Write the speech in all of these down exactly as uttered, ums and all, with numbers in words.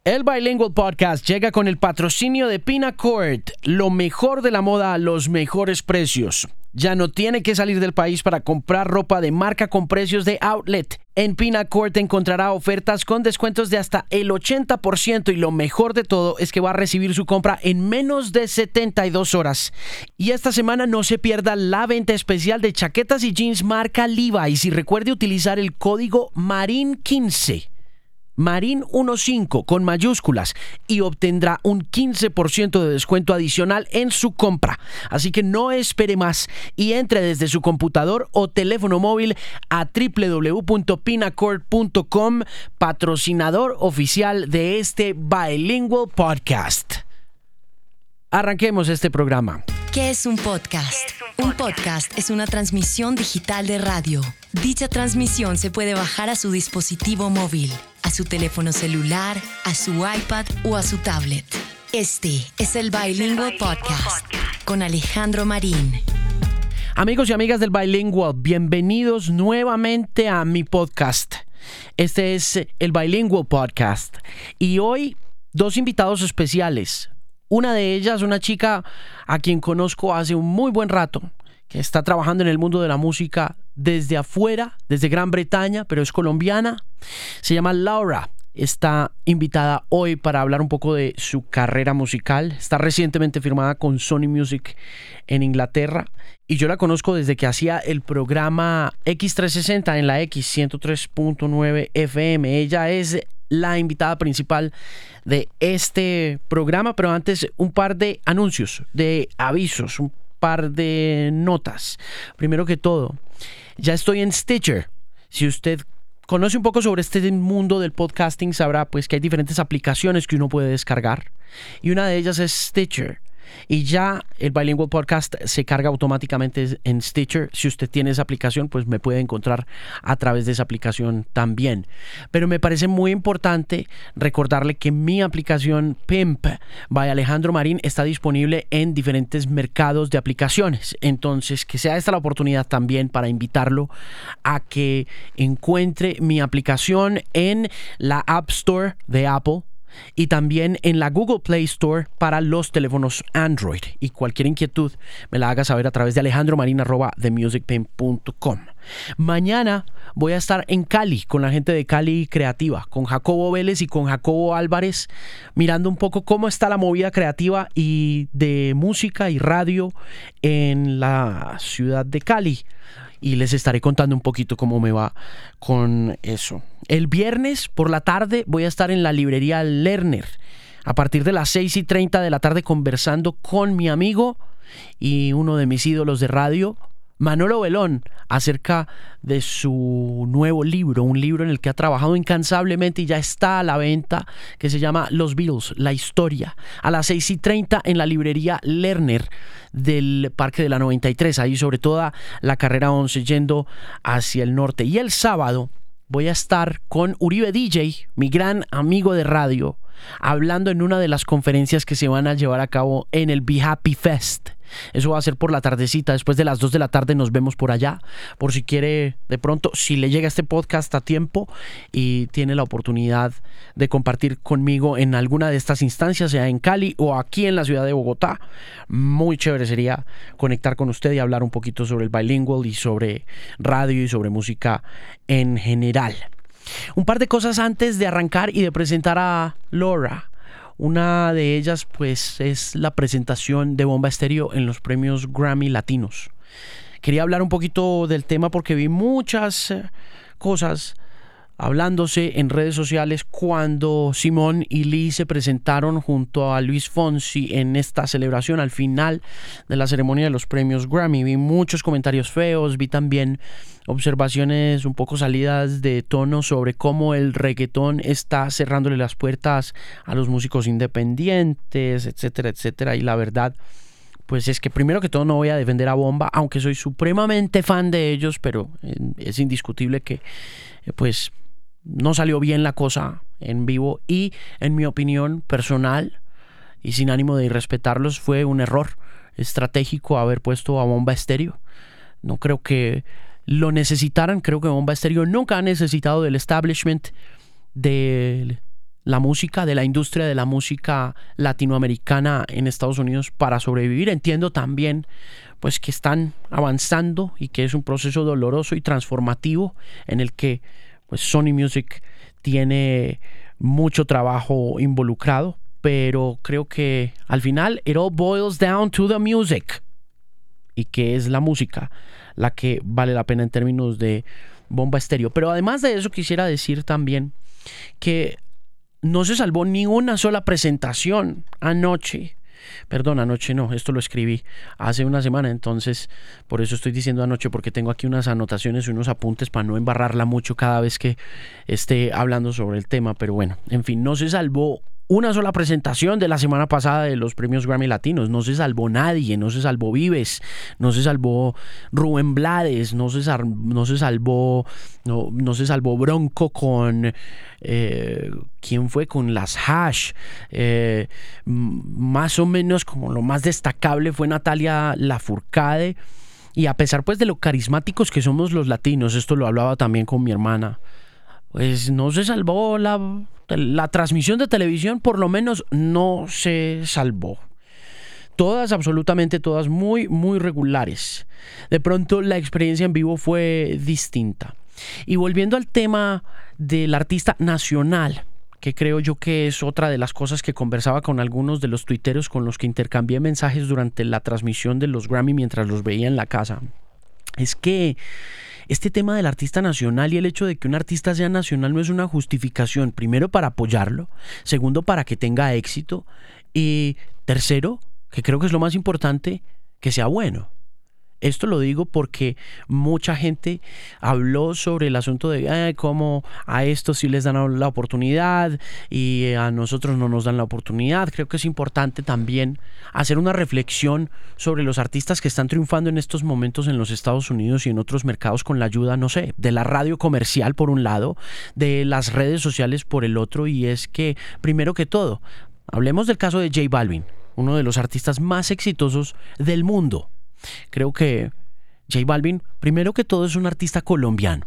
El Bilingual Podcast llega con el patrocinio de Pinacord, lo mejor de la moda a los mejores precios. Ya no tiene que salir del país para comprar ropa de marca con precios de outlet. En Pinacord encontrará ofertas con descuentos de hasta el ochenta por ciento y lo mejor de todo es que va a recibir su compra en menos de setenta y dos horas. Y esta semana no se pierda la venta especial de chaquetas y jeans marca Levi's y recuerde utilizar el código Marin quince. Marin quince con mayúsculas y obtendrá un quince por ciento de descuento adicional en su compra. Así que no espere más y entre desde su computador o teléfono móvil a doble u doble u doble u punto pinacord punto com, patrocinador oficial de este Bilingual Podcast. Arranquemos este programa. ¿Qué es un podcast? ¿Qué es un podcast? Un podcast es una transmisión digital de radio. Dicha transmisión se puede bajar a su dispositivo móvil, a su teléfono celular, a su iPad o a su tablet. Este es el Bilingual Podcast con Alejandro Marín. Amigos y amigas del Bilingual, bienvenidos nuevamente a mi podcast. Este es el Bilingual Podcast y hoy dos invitados especiales. Una de ellas, una chica a quien conozco hace un muy buen rato, que está trabajando en el mundo de la música desde afuera, desde Gran Bretaña, pero es colombiana. Se llama Laura. Está invitada hoy para hablar un poco de su carrera musical. Está recientemente firmada con Sony Music en Inglaterra. Y yo la conozco desde que hacía el programa X trescientos sesenta en la X ciento tres punto nueve F M. Ella es la invitada principal de este programa, pero antes un par de anuncios, de avisos, un par de notas. Primero que todo, ya estoy en Stitcher. Si usted conoce un poco sobre este mundo del podcasting, sabrá pues que hay diferentes aplicaciones que uno puede descargar y una de ellas es Stitcher. Y ya el Bilingual Podcast se carga automáticamente en Stitcher. Si usted tiene esa aplicación, pues me puede encontrar a través de esa aplicación también. Pero me parece muy importante recordarle que mi aplicación Pimp by Alejandro Marín está disponible en diferentes mercados de aplicaciones. Entonces, que sea esta la oportunidad también para invitarlo a que encuentre mi aplicación en la App Store de Apple y también en la Google Play Store para los teléfonos Android. Y cualquier inquietud me la haga saber a través de alejandromarin arroba the music pimp punto com. Mañana voy a estar en Cali con la gente de Cali Creativa, con Jacobo Vélez y con Jacobo Álvarez, mirando un poco cómo está la movida creativa y de música y radio en la ciudad de Cali. Y les estaré contando un poquito cómo me va con eso. El viernes por la tarde voy a estar en la librería Lerner a partir de las seis y treinta de la tarde conversando con mi amigo y uno de mis ídolos de radio, Manolo Belón, acerca de su nuevo libro, un libro en el que ha trabajado incansablemente y ya está a la venta, que se llama Los Beatles, la historia, a las seis y treinta en la librería Lerner del Parque de la noventa y tres, ahí sobre toda la carrera once yendo hacia el norte. Y el sábado voy a estar con Uribe D J, mi gran amigo de radio, hablando en una de las conferencias que se van a llevar a cabo en el Be Happy Fest. Eso va a ser por la tardecita, después de las dos de la tarde nos vemos por allá, por si quiere de pronto, si le llega este podcast a tiempo y tiene la oportunidad de compartir conmigo en alguna de estas instancias, sea en Cali o aquí en la ciudad de Bogotá. Muy chévere sería conectar con usted y hablar un poquito sobre el Bilingual y sobre radio y sobre música en general. Un par de cosas antes de arrancar y de presentar a Laura. Una de ellas pues es la presentación de Bomba Estéreo en los premios Grammy Latinos. Quería hablar un poquito del tema porque vi muchas cosas hablándose en redes sociales cuando Simón y Lee se presentaron junto a Luis Fonsi en esta celebración al final de la ceremonia de los premios Grammy. Vi muchos comentarios feos, vi también observaciones un poco salidas de tono sobre cómo el reggaetón está cerrándole las puertas a los músicos independientes, etcétera, etcétera. Y la verdad, pues es que primero que todo no voy a defender a Bomba, aunque soy supremamente fan de ellos, pero es indiscutible que pues no salió bien la cosa en vivo y en mi opinión personal y sin ánimo de irrespetarlos fue un error estratégico haber puesto a Bomba Estéreo. No creo que lo necesitaran, creo que Bomba Estéreo nunca ha necesitado del establishment de la música, de la industria de la música latinoamericana en Estados Unidos para sobrevivir. Entiendo también pues que están avanzando y que es un proceso doloroso y transformativo en el que pues Sony Music tiene mucho trabajo involucrado, pero creo que al final it all boils down to the music, y que es la música la que vale la pena en términos de Bomba Estéreo. Pero además de eso quisiera decir también que no se salvó ni una sola presentación anoche. Perdón, anoche no, esto lo escribí hace una semana, entonces por eso estoy diciendo anoche, porque tengo aquí unas anotaciones y unos apuntes para no embarrarla mucho cada vez que esté hablando sobre el tema. Pero bueno, en fin, no se salvó una sola presentación de la semana pasada de los premios Grammy Latinos. No se salvó nadie, no se salvó Vives, no se salvó Rubén Blades, no se, sal, no se salvó no, no se salvó Bronco con eh, ¿quién fue? Con las Hash. Eh, más o menos como lo más destacable fue Natalia Lafourcade. Y a pesar pues de lo carismáticos que somos los latinos, esto lo hablaba también con mi hermana, pues no se salvó la, la transmisión de televisión, por lo menos no se salvó. Todas, absolutamente todas, muy, muy regulares. De pronto la experiencia en vivo fue distinta. Y volviendo al tema del artista nacional, que creo yo que es otra de las cosas que conversaba con algunos de los tuiteros con los que intercambié mensajes durante la transmisión de los Grammy mientras los veía en la casa, es que este tema del artista nacional y el hecho de que un artista sea nacional no es una justificación, primero, para apoyarlo, segundo, para que tenga éxito, y tercero, que creo que es lo más importante, que sea bueno. Esto lo digo porque mucha gente habló sobre el asunto de eh, cómo a estos sí les dan la oportunidad y a nosotros no nos dan la oportunidad. Creo que es importante también hacer una reflexión sobre los artistas que están triunfando en estos momentos en los Estados Unidos y en otros mercados con la ayuda, no sé, de la radio comercial por un lado, de las redes sociales por el otro. Y es que, primero que todo, hablemos del caso de J Balvin, uno de los artistas más exitosos del mundo. Creo que J Balvin, primero que todo, es un artista colombiano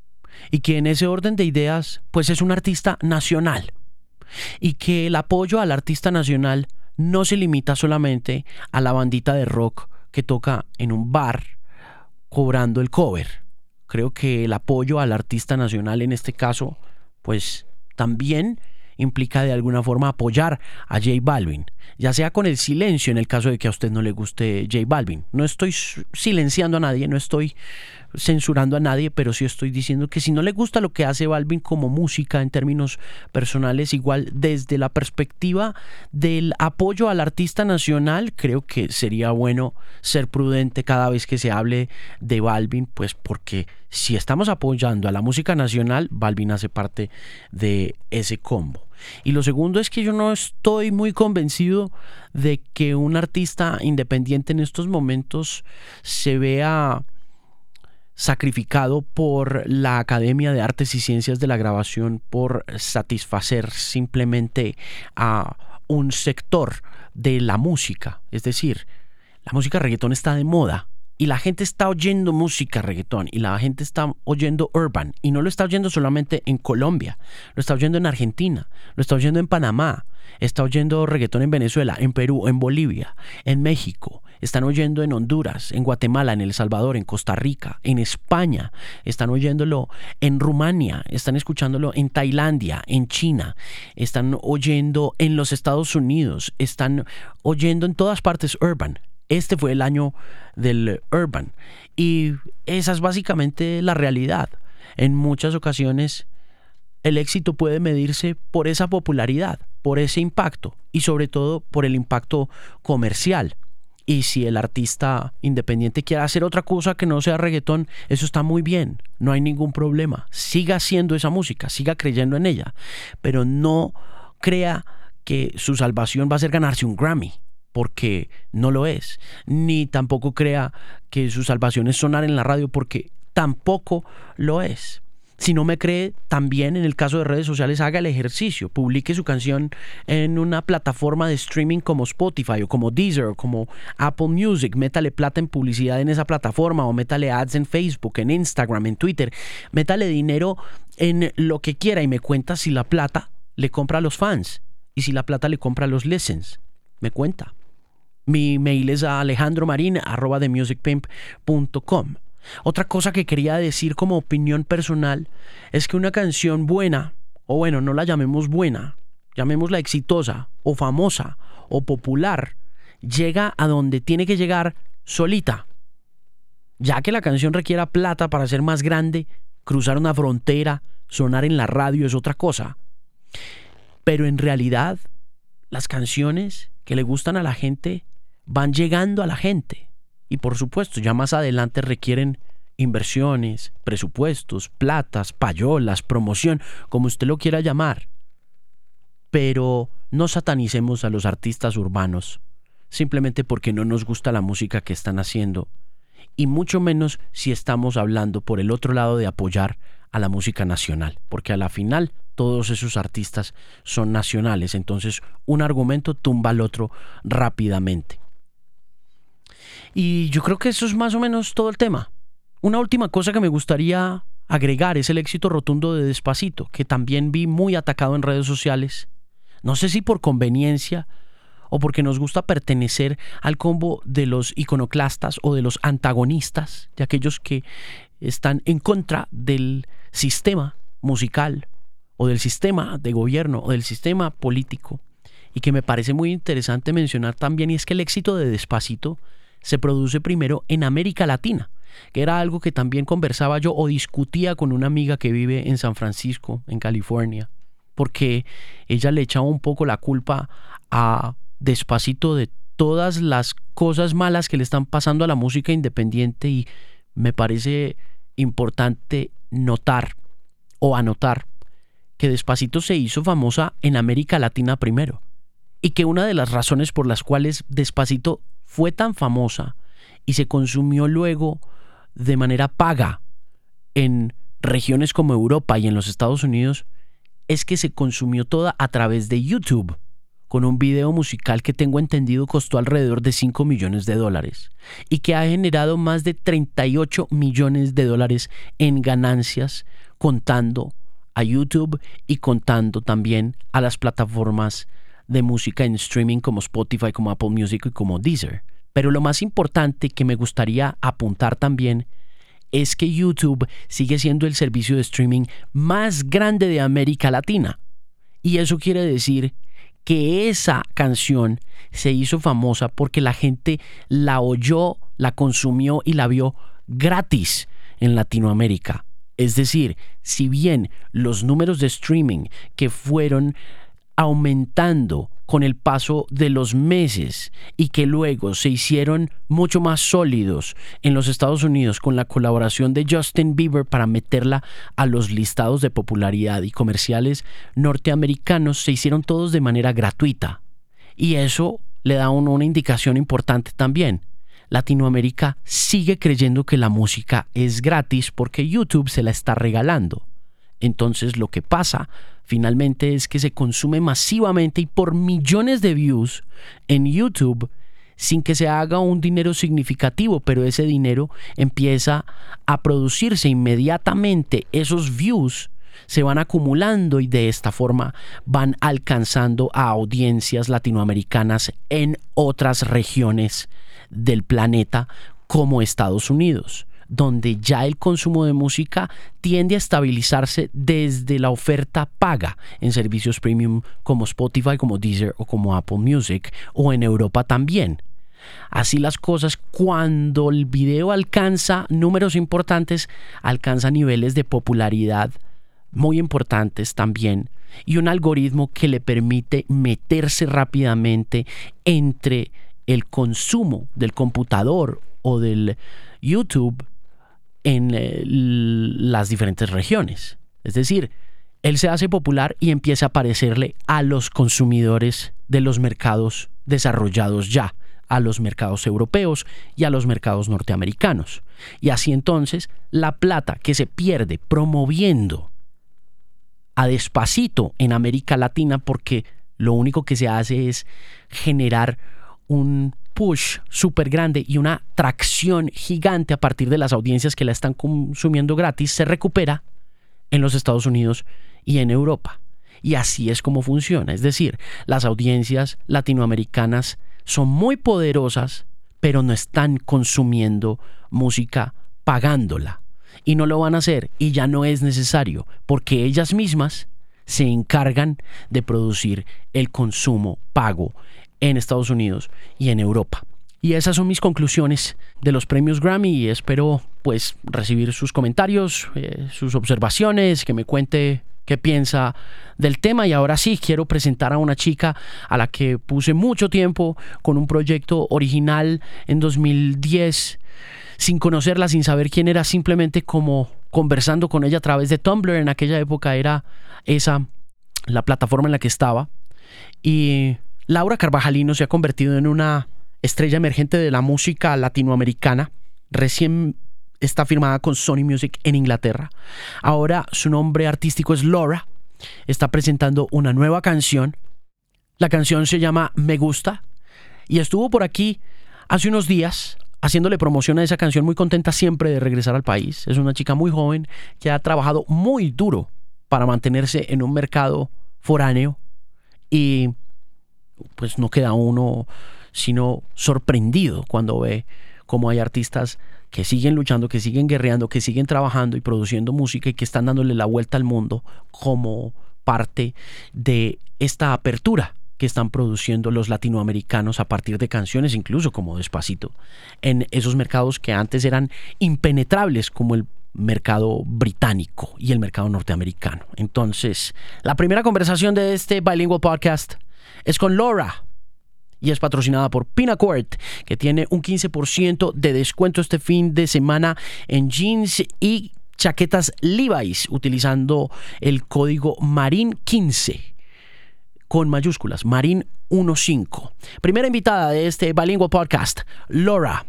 y que en ese orden de ideas pues es un artista nacional, y que el apoyo al artista nacional no se limita solamente a la bandita de rock que toca en un bar cobrando el cover. Creo que el apoyo al artista nacional en este caso pues también implica de alguna forma apoyar a J Balvin, ya sea con el silencio en el caso de que a usted no le guste J Balvin. No estoy silenciando a nadie, no estoy censurando a nadie, pero sí estoy diciendo que si no le gusta lo que hace Balvin como música en términos personales, igual desde la perspectiva del apoyo al artista nacional, creo que sería bueno ser prudente cada vez que se hable de Balvin, pues porque si estamos apoyando a la música nacional, Balvin hace parte de ese combo. Y lo segundo es que yo no estoy muy convencido de que un artista independiente en estos momentos se vea sacrificado por la Academia de Artes y Ciencias de la Grabación por satisfacer simplemente a un sector de la música. Es decir, la música reggaetón está de moda y la gente está oyendo música reggaetón y la gente está oyendo urban, y no lo está oyendo solamente en Colombia, lo está oyendo en Argentina, lo está oyendo en Panamá, está oyendo reggaetón en Venezuela, en Perú, en Bolivia, en México, están oyendo en Honduras, en Guatemala, en El Salvador, en Costa Rica, en España, están oyéndolo en Rumania, están escuchándolo en Tailandia, en China, están oyendo en los Estados Unidos, están oyendo en todas partes urban. Este fue el año del urban, y esa es básicamente la realidad. En muchas ocasiones el éxito puede medirse por esa popularidad, por ese impacto y sobre todo por el impacto comercial. Y si el artista independiente quiere hacer otra cosa que no sea reggaetón, eso está muy bien, no hay ningún problema. Siga haciendo esa música, siga creyendo en ella, pero no crea que su salvación va a ser ganarse un Grammy, porque no lo es. Ni tampoco crea que su salvación es sonar en la radio, porque tampoco lo es. Si no me cree, también en el caso de redes sociales, haga el ejercicio, publique su canción en una plataforma de streaming como Spotify o como Deezer o como Apple Music, métale plata en publicidad en esa plataforma, o métale ads en Facebook, en Instagram, en Twitter, métale dinero en lo que quiera y me cuenta si la plata le compra a los fans y si la plata le compra a los listens. Me cuenta. Mi mail es a alejandromarin arroba the music pimp punto com. Otra cosa que quería decir como opinión personal es que una canción buena, o bueno, no la llamemos buena, llamémosla exitosa o famosa o popular, llega a donde tiene que llegar solita. Ya que la canción requiera plata para ser más grande, cruzar una frontera, sonar en la radio es otra cosa. Pero en realidad, las canciones que le gustan a la gente van llegando a la gente. Y por supuesto, ya más adelante requieren inversiones, presupuestos, platas, payolas, promoción, como usted lo quiera llamar. Pero no satanicemos a los artistas urbanos, simplemente porque no nos gusta la música que están haciendo. Y mucho menos si estamos hablando por el otro lado de apoyar a la música nacional, porque a la final todos esos artistas son nacionales, entonces un argumento tumba al otro rápidamente. Y yo creo que eso es más o menos todo el tema. Una última cosa que me gustaría agregar es el éxito rotundo de Despacito, que también vi muy atacado en redes sociales. No sé si por conveniencia o porque nos gusta pertenecer al combo de los iconoclastas o de los antagonistas, de aquellos que están en contra del sistema musical o del sistema de gobierno o del sistema político. Y que me parece muy interesante mencionar también, y es que el éxito de Despacito se produce primero en América Latina, que era algo que también conversaba yo o discutía con una amiga que vive en San Francisco, en California, porque ella le echaba un poco la culpa a Despacito de todas las cosas malas que le están pasando a la música independiente, y me parece importante notar o anotar que Despacito se hizo famosa en América Latina primero, y que una de las razones por las cuales Despacito fue tan famosa y se consumió luego de manera paga en regiones como Europa y en los Estados Unidos es que se consumió toda a través de YouTube, con un video musical que tengo entendido costó alrededor de cinco millones de dólares y que ha generado más de treinta y ocho millones de dólares en ganancias, contando a YouTube y contando también a las plataformas de música en streaming como Spotify, como Apple Music y como Deezer. Pero lo más importante que me gustaría apuntar también es que YouTube sigue siendo el servicio de streaming más grande de América Latina. Y eso quiere decir que esa canción se hizo famosa porque la gente la oyó, la consumió y la vio gratis en Latinoamérica. Es decir, si bien los números de streaming que fueron aumentando con el paso de los meses y que luego se hicieron mucho más sólidos en los Estados Unidos con la colaboración de Justin Bieber para meterla a los listados de popularidad y comerciales norteamericanos, se hicieron todos de manera gratuita. Y eso le da a uno una indicación importante también. Latinoamérica sigue creyendo que la música es gratis porque YouTube se la está regalando. Entonces lo que pasa finalmente es que se consume masivamente y por millones de views en YouTube sin que se haga un dinero significativo, pero ese dinero empieza a producirse inmediatamente. Esos views se van acumulando y de esta forma van alcanzando a audiencias latinoamericanas en otras regiones del planeta como Estados Unidos, donde ya el consumo de música tiende a estabilizarse desde la oferta paga en servicios premium como Spotify, como Deezer o como Apple Music, o en Europa también. Así las cosas, cuando el video alcanza números importantes, alcanza niveles de popularidad muy importantes también, y un algoritmo que le permite meterse rápidamente entre el consumo del computador o del YouTube en eh, las diferentes regiones. Es decir, él se hace popular y empieza a aparecerle a los consumidores de los mercados desarrollados ya, a los mercados europeos y a los mercados norteamericanos. Y así entonces la plata que se pierde promoviendo a Despacito en América Latina, porque lo único que se hace es generar un push súper grande y una tracción gigante a partir de las audiencias que la están consumiendo gratis, se recupera en los Estados Unidos y en Europa. Y así es como funciona. Es decir, las audiencias latinoamericanas son muy poderosas, pero no están consumiendo música pagándola. Y no lo van a hacer, y ya no es necesario, porque ellas mismas se encargan de producir el consumo pago en Estados Unidos y en Europa. Y esas son mis conclusiones de los premios Grammy, y espero pues recibir sus comentarios, eh, sus observaciones, que me cuente qué piensa del tema. Y ahora sí, quiero presentar a una chica a la que puse mucho tiempo con un proyecto original en dos mil diez, sin conocerla, sin saber quién era, simplemente como conversando con ella a través de Tumblr. En aquella época era esa la plataforma en la que estaba. Y Laura Carvajalino se ha convertido en una estrella emergente de la música latinoamericana. Recién está firmada con Sony Music en Inglaterra. Ahora su nombre artístico es Laura. Está presentando una nueva canción. La canción se llama Me Gusta y estuvo por aquí hace unos días haciéndole promoción a esa canción, muy contenta siempre de regresar al país. Es una chica muy joven que ha trabajado muy duro para mantenerse en un mercado foráneo, y pues no queda uno sino sorprendido cuando ve cómo hay artistas que siguen luchando, que siguen guerreando, que siguen trabajando y produciendo música, y que están dándole la vuelta al mundo como parte de esta apertura que están produciendo los latinoamericanos a partir de canciones, incluso como Despacito, en esos mercados que antes eran impenetrables, como el mercado británico y el mercado norteamericano. Entonces, la primera conversación de este Bilingual Podcast es con Laura, y es patrocinada por Pinacord, que tiene un quince por ciento de descuento este fin de semana en jeans y chaquetas Levi's, utilizando el código Marin quince con mayúsculas, Marin quince. Primera invitada de este Bilingual Podcast, Laura.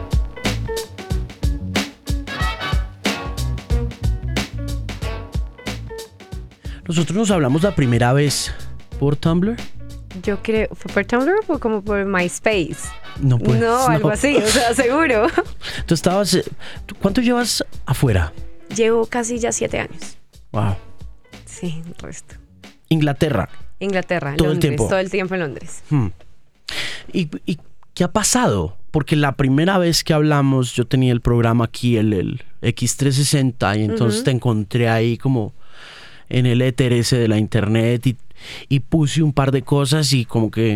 Nosotros nos hablamos la primera vez por Tumblr. Yo creo, ¿fue por Tumblr o como por MySpace? No, pues, no, no, algo así, o sea, seguro. Tú estabas, ¿cuánto llevas afuera? Llevo casi ya siete años. Wow. Sí, el resto. Inglaterra. Inglaterra, todo Londres, el tiempo. todo el tiempo en Londres. Hmm. ¿Y, ¿Y qué ha pasado? Porque la primera vez que hablamos, yo tenía el programa aquí, el, el X trescientos sesenta, y entonces uh-huh. te encontré ahí como en el éter ese de la internet, y, y puse un par de cosas y como que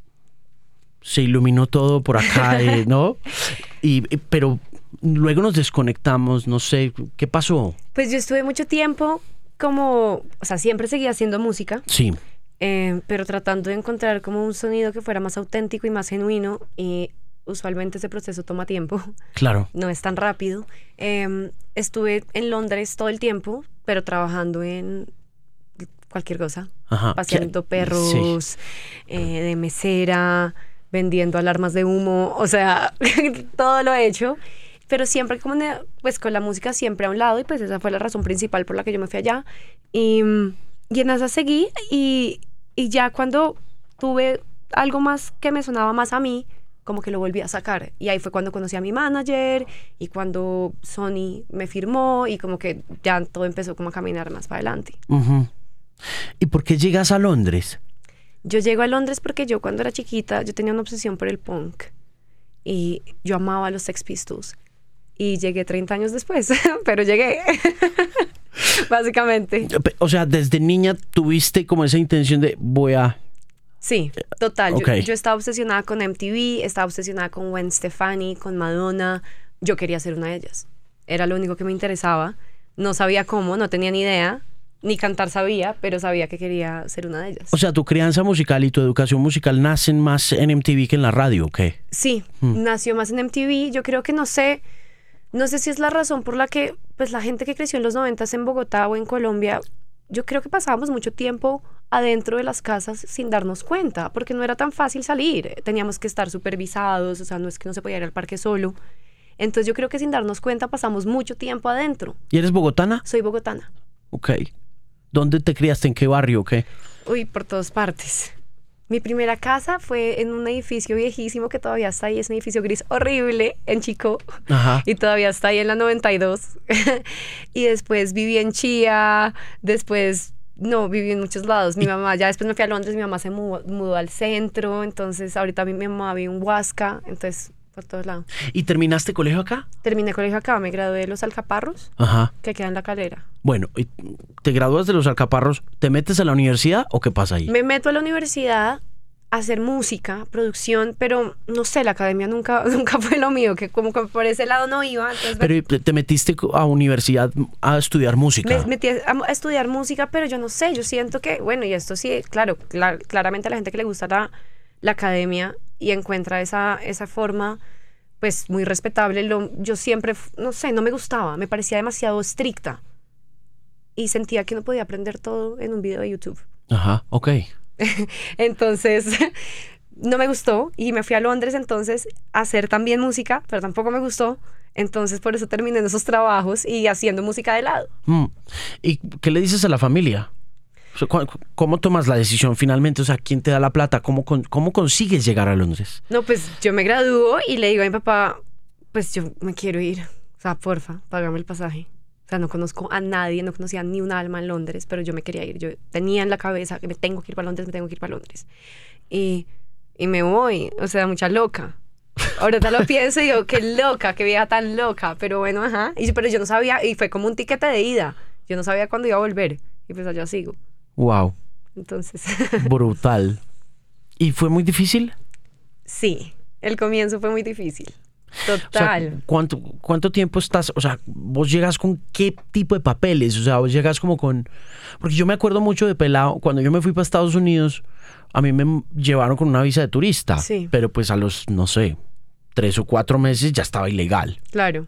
se iluminó todo por acá, eh, ¿no? Y, pero luego nos desconectamos, no sé, ¿qué pasó? Pues yo estuve mucho tiempo como, o sea, siempre seguía haciendo música. Sí. Eh, pero tratando de encontrar como un sonido que fuera más auténtico y más genuino, y usualmente ese proceso toma tiempo. Claro. No es tan rápido. Eh, estuve en Londres todo el tiempo, pero trabajando en cualquier cosa. Ajá. Paseando perros, sí. eh, de mesera, vendiendo alarmas de humo, o sea, todo lo he hecho. Pero siempre como, pues con la música siempre a un lado, y pues esa fue la razón principal por la que yo me fui allá. Y, y en esa seguí, y, y ya cuando tuve algo más que me sonaba más a mí, como que lo volví a sacar. Y ahí fue cuando conocí a mi manager, y cuando Sony me firmó, y como que ya todo empezó como a caminar más para adelante. Uh-huh. ¿Y por qué llegas a Londres? Yo llego a Londres porque yo cuando era chiquita, yo tenía una obsesión por el punk. Y yo amaba a los Sex Pistols. Y llegué treinta años después, pero llegué, básicamente. O sea, desde niña tuviste como esa intención de voy a... Sí, total. Okay. Yo, yo estaba obsesionada con M T V, estaba obsesionada con Gwen Stefani, con Madonna. Yo quería ser una de ellas. Era lo único que me interesaba. No sabía cómo, no tenía ni idea. Ni cantar sabía, pero sabía que quería ser una de ellas. O sea, tu crianza musical y tu educación musical nacen más en M T V que en la radio, ¿o qué? Sí, hmm. nació más en M T V. Yo creo que no sé... No sé si es la razón por la que pues la gente que creció en los noventas en Bogotá o en Colombia, yo creo que pasábamos mucho tiempo adentro de las casas sin darnos cuenta, porque no era tan fácil salir. Teníamos que estar supervisados, o sea, no es que no se podía ir al parque solo. Entonces yo creo que sin darnos cuenta pasamos mucho tiempo adentro. ¿Y eres bogotana? Soy bogotana. Ok. ¿Dónde te criaste? ¿En qué barrio o qué? Uy, por todas partes. Mi primera casa fue en un edificio viejísimo que todavía está ahí. Es un edificio gris horrible en Chico. Ajá. Y todavía está ahí en la noventa y dos. Y después viví en Chía. Después No, viví en muchos lados. Mi mamá, ya después me fui a Londres, mi mamá se mudó, mudó al centro, entonces ahorita mi, mi mamá vive en Huasca, entonces por todos lados. ¿Y terminaste colegio acá? Terminé colegio acá, me gradué de los Alcaparros, Ajá. que queda en La Calera. Bueno, y te gradúas de los Alcaparros, ¿te metes a la universidad o qué pasa ahí? Me meto a la universidad a hacer música, producción, pero no sé, la academia nunca, nunca fue lo mío, que como que por ese lado no iba. Entonces Pero me, te metiste a universidad a estudiar música. me metí a, a estudiar música, pero yo no sé, yo siento que, bueno, y esto sí, claro, clar, claramente a la gente que le gusta la, la academia y encuentra esa, esa forma, pues muy respetable, lo, yo siempre, no sé, no me gustaba, me parecía demasiado estricta y sentía que no podía aprender todo en un video de YouTube. Ajá, ok. Entonces no me gustó y me fui a Londres entonces a hacer también música, pero tampoco me gustó, entonces por eso terminé en esos trabajos y haciendo música de lado. Mm. ¿Y qué le dices a la familia? O sea, ¿cómo tomas la decisión finalmente? O sea, ¿quién te da la plata? ¿Cómo, cómo consigues llegar a Londres? No, pues yo me gradúo y le digo a mi papá, pues yo me quiero ir, o sea, porfa, págame el pasaje. O sea, no conozco a nadie, no conocía ni un alma en Londres, pero yo me quería ir. Yo tenía en la cabeza que me tengo que ir para Londres, me tengo que ir para Londres. Y, y me voy, o sea, mucha loca. Ahorita lo pienso y digo, qué loca, qué vieja tan loca. Pero bueno, ajá. Y, pero yo no sabía, y fue como un tiquete de ida. Yo no sabía cuándo iba a volver. Y pues allá sigo. Wow. Entonces. Brutal. ¿Y fue muy difícil? Sí, el comienzo fue muy difícil. Total. O sea, ¿cuánto, ¿cuánto tiempo estás? O sea, ¿vos llegas con qué tipo de papeles? O sea, vos llegas como con... Porque yo me acuerdo mucho de pelado, cuando yo me fui para Estados Unidos, a mí me llevaron con una visa de turista. Sí. Pero pues a los, no sé, tres o cuatro meses ya estaba ilegal. Claro.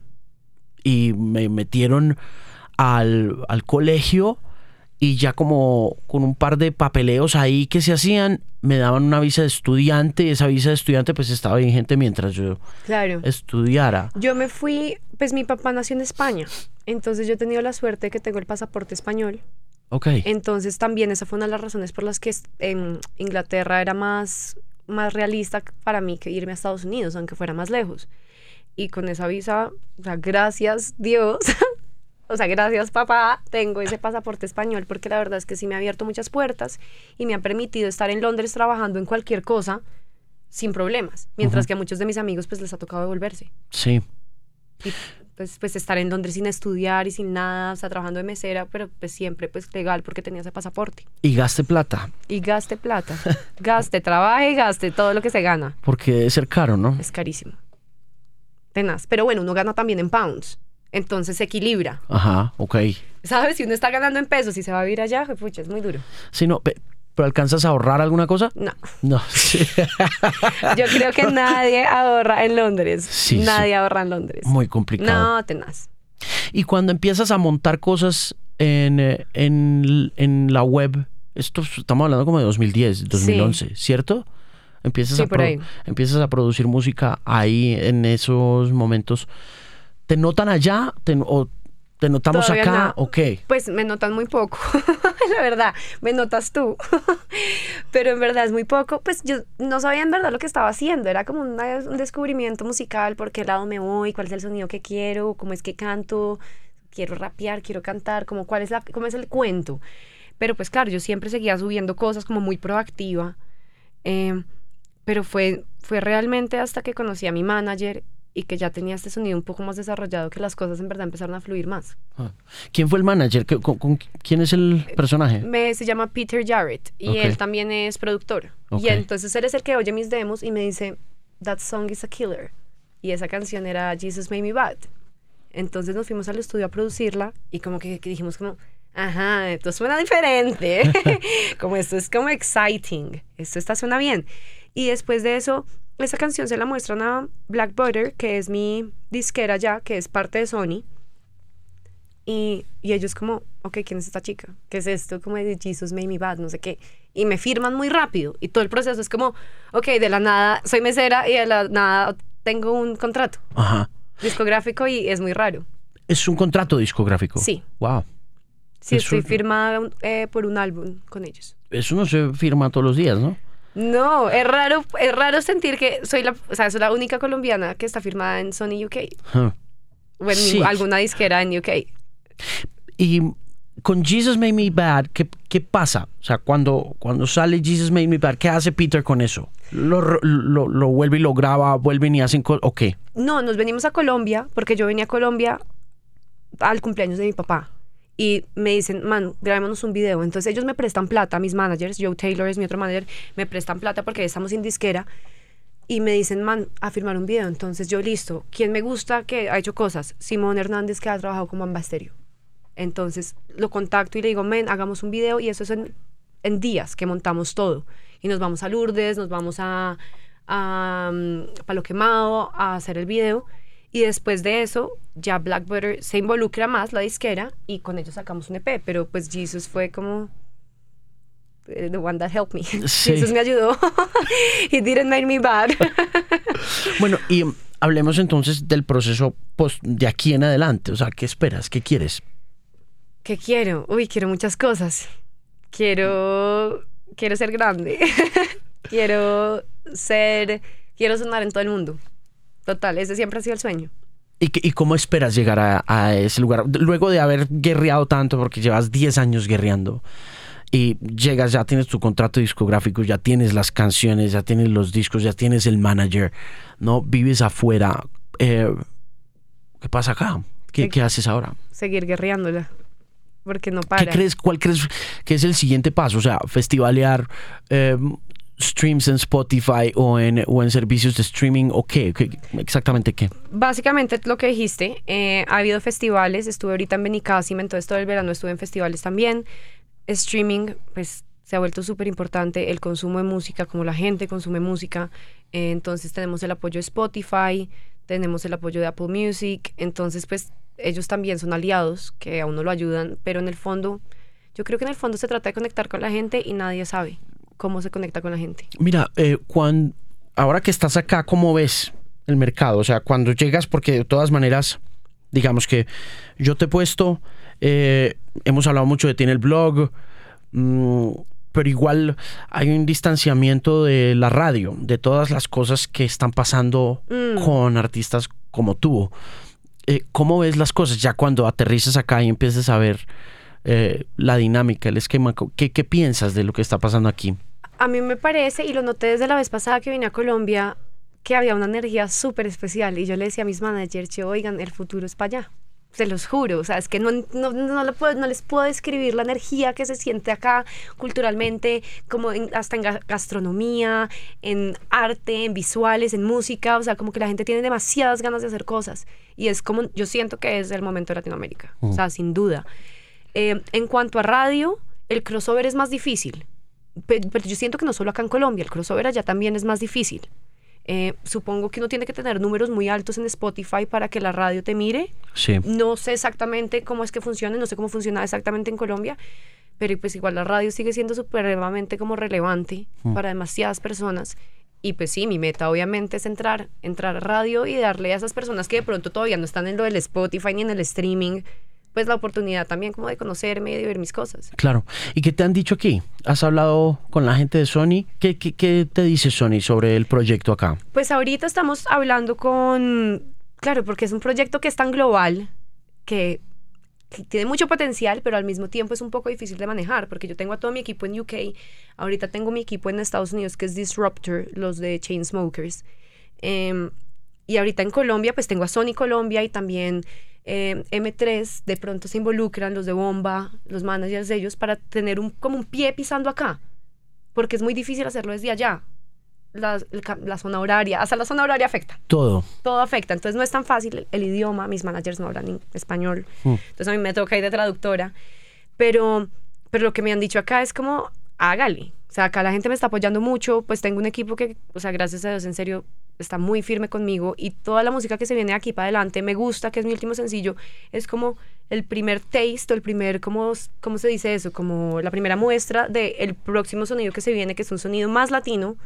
Y me metieron al, al colegio y ya como con un par de papeleos ahí que se hacían, me daban una visa de estudiante y esa visa de estudiante pues estaba vigente mientras yo Claro. estudiara. Yo me fui, pues mi papá nació en España, entonces yo he tenido la suerte de que tengo el pasaporte español. Ok. Entonces también esa fue una de las razones por las que en Inglaterra era más, más realista para mí que irme a Estados Unidos, aunque fuera más lejos. Y con esa visa, o sea, gracias Dios, o sea, gracias papá, tengo ese pasaporte español porque la verdad es que sí me ha abierto muchas puertas y me ha permitido estar en Londres trabajando en cualquier cosa sin problemas, mientras uh-huh. que a muchos de mis amigos pues les ha tocado devolverse. Sí. Y pues, pues estar en Londres sin estudiar y sin nada, o sea, trabajando de mesera, pero pues siempre pues legal porque tenía ese pasaporte. Y gaste plata. Y gaste plata. Gaste, trabaje y gaste todo lo que se gana. Porque debe ser caro, ¿no? Es carísimo. Tenaz. Pero bueno, uno gana también en pounds. Entonces se equilibra. Ajá, ok. ¿Sabes? Si uno está ganando en pesos y se va a vivir allá, pucha, es muy duro. Sí, no, pe- ¿pero alcanzas a ahorrar alguna cosa? No. No, sí. Yo creo que nadie ahorra en Londres. Sí, nadie sí. ahorra en Londres. Muy complicado. No, tenaz. Y cuando empiezas a montar cosas en, eh, en, en la web, esto estamos hablando como de dos mil diez, dos mil once, sí. ¿Cierto? Empiezas, sí, a por pro- ahí. empiezas a producir música ahí en esos momentos. ¿Te notan allá? ¿Te, o te notamos Todavía acá? no. ¿O qué? Pues me notan muy poco, la verdad, me notas tú, pero en verdad es muy poco. Pues yo no sabía en verdad lo que estaba haciendo, era como una, un descubrimiento musical, por qué lado me voy, cuál es el sonido que quiero, cómo es que canto, quiero rapear, quiero cantar, como cuál es la, cómo es el cuento. Pero pues claro, yo siempre seguía subiendo cosas como muy proactiva, eh, pero fue, fue realmente hasta que conocí a mi manager y que ya tenía este sonido un poco más desarrollado que las cosas en verdad empezaron a fluir más. ¿Quién fue el manager? ¿Con, con, ¿Quién es el personaje? Me, se llama Peter Jarrett y Okay. él también es productor. Okay. Y entonces él es el que oye mis demos y me dice, that song is a killer. Y esa canción era Jesus Made Me Bad. Entonces nos fuimos al estudio a producirla y como que, que dijimos como, ajá, esto suena diferente. Como esto es como exciting. Esto está, suena bien. Y después de eso, esa canción se la muestran a Black Butter, que es mi disquera ya, que es parte de Sony. Y, y ellos como, ok, ¿quién es esta chica? ¿Qué es esto? Como de Jesus Made Me Bad, no sé qué. Y me firman muy rápido. Y todo el proceso es como, ok, de la nada soy mesera y de la nada tengo un contrato Ajá. discográfico y es muy raro. ¿Es un contrato discográfico? Sí. Wow. Sí, Eso- estoy firmada eh, por un álbum con ellos. Eso no se firma todos los días, ¿no? No, es raro, es raro sentir que soy la, o sea, soy la única colombiana que está firmada en Sony U K Huh. o en Sí. alguna disquera en U K. Y con Jesus Made Me Bad, ¿qué, qué pasa? O sea, cuando, cuando sale Jesus Made Me Bad, ¿qué hace Peter con eso? ¿Lo, lo, lo vuelve y lo graba, vuelven y hacen co- o qué? No, nos venimos a Colombia, porque yo venía a Colombia al cumpleaños de mi papá. Y me dicen, man, grabémonos un video. Entonces ellos me prestan plata, mis managers, Joe Taylor es mi otro manager, me prestan plata porque estamos sin disquera. Y me dicen, man, a firmar un video. Entonces yo, listo. ¿Quién me gusta que ha hecho cosas? Simón Hernández, que ha trabajado como Bomba Estéreo. Entonces lo contacto y le digo, men, hagamos un video. Y eso es en, en días que montamos todo. Y nos vamos a Lourdes, nos vamos a, a um, Palo Quemado a hacer el video. Y después de eso, ya Black Butter se involucra más, la disquera, y con ellos sacamos un E P. Pero pues Jesus fue como the one that helped me. Sí. Jesus me ayudó. He didn't make me bad. Bueno, y hablemos entonces del proceso post, de aquí en adelante. O sea, ¿qué esperas? ¿Qué quieres? ¿Qué quiero? Uy, quiero muchas cosas. Quiero, quiero ser grande. Quiero ser, quiero sonar en todo el mundo. Total, ese siempre ha sido el sueño. ¿Y, y cómo esperas llegar a, a ese lugar? Luego de haber guerreado tanto, porque llevas diez años guerreando, y llegas, ya tienes tu contrato discográfico, ya tienes las canciones, ya tienes los discos, ya tienes el manager, ¿no? Vives afuera. Eh, ¿Qué pasa acá? ¿Qué, ¿Qué haces ahora? Seguir guerreándola, porque no para. ¿Qué crees, cuál crees que es el siguiente paso? O sea, festivalear, eh, streams en Spotify o en, o en servicios de streaming, o qué, ¿Qué exactamente qué? Básicamente lo que dijiste, eh, ha habido festivales, estuve ahorita en Benicàssim, entonces todo el verano estuve en festivales también. Streaming, pues se ha vuelto súper importante, el consumo de música, como la gente consume música, eh, entonces tenemos el apoyo de Spotify, tenemos el apoyo de Apple Music, entonces pues ellos también son aliados que a uno lo ayudan, pero en el fondo, yo creo que en el fondo se trata de conectar con la gente y nadie sabe cómo se conecta con la gente. Mira, eh, cuando, ahora que estás acá, ¿cómo ves el mercado? O sea, cuando llegas, porque de todas maneras, digamos que yo te he puesto, eh, hemos hablado mucho de ti en el blog, mmm, pero igual hay un distanciamiento de la radio, de todas las cosas que están pasando mm. con artistas como tú. Eh, ¿Cómo ves las cosas ya cuando aterrizas acá y empiezas a ver eh, la dinámica, el esquema? ¿Qué, ¿Qué piensas de lo que está pasando aquí? A mí me parece, y lo noté desde la vez pasada que vine a Colombia, que había una energía súper especial. Y yo le decía a mis managers, yo, oigan, el futuro es para allá. Se los juro, o sea, es que no, no, no, le puedo, no les puedo describir la energía que se siente acá culturalmente, como en, hasta en gastronomía, en arte, en visuales, en música, o sea, como que la gente tiene demasiadas ganas de hacer cosas. Y es como, yo siento que es el momento de Latinoamérica, mm. o sea, sin duda. Eh, en cuanto a radio, el crossover es más difícil, pero, pero yo siento que no solo acá en Colombia, el crossover allá también es más difícil. Eh, supongo que uno tiene que tener números muy altos en Spotify para que la radio te mire. Sí. No sé exactamente cómo es que funciona, no sé cómo funciona exactamente en Colombia, pero pues igual la radio sigue siendo supremamente como relevante mm. para demasiadas personas. Y pues sí, mi meta obviamente es entrar, entrar a radio y darle a esas personas que de pronto todavía no están en lo del Spotify ni en el streaming, pues la oportunidad también como de conocerme y de ver mis cosas. Claro. ¿Y qué te han dicho aquí? ¿Has hablado con la gente de Sony? ¿Qué, qué, qué te dice Sony sobre el proyecto acá? Pues ahorita estamos hablando con... Claro, porque es un proyecto que es tan global, que, que tiene mucho potencial, pero al mismo tiempo es un poco difícil de manejar, porque yo tengo a todo mi equipo en U K, ahorita tengo mi equipo en Estados Unidos, que es Disruptor, los de Chainsmokers. Eh, y ahorita en Colombia, pues tengo a Sony Colombia y también... Eh, M tres, de pronto se involucran los de Bomba, los managers de ellos, para tener un, como un pie pisando acá, porque es muy difícil hacerlo desde allá. La, la, la zona horaria, hasta la zona horaria afecta. Todo. Todo afecta, entonces no es tan fácil el, el idioma, mis managers no hablan español, mm. entonces a mí me toca ir de traductora, pero, pero lo que me han dicho acá es como, hágale, o sea, acá la gente me está apoyando mucho, pues tengo un equipo que, o sea, gracias a Dios, en serio, está muy firme conmigo, y toda la música que se viene de aquí para adelante me gusta, que es mi último sencillo, es como el primer taste, o el primer, ¿cómo, cómo se dice eso? Como la primera muestra del próximo sonido que se viene, que es un sonido más latino,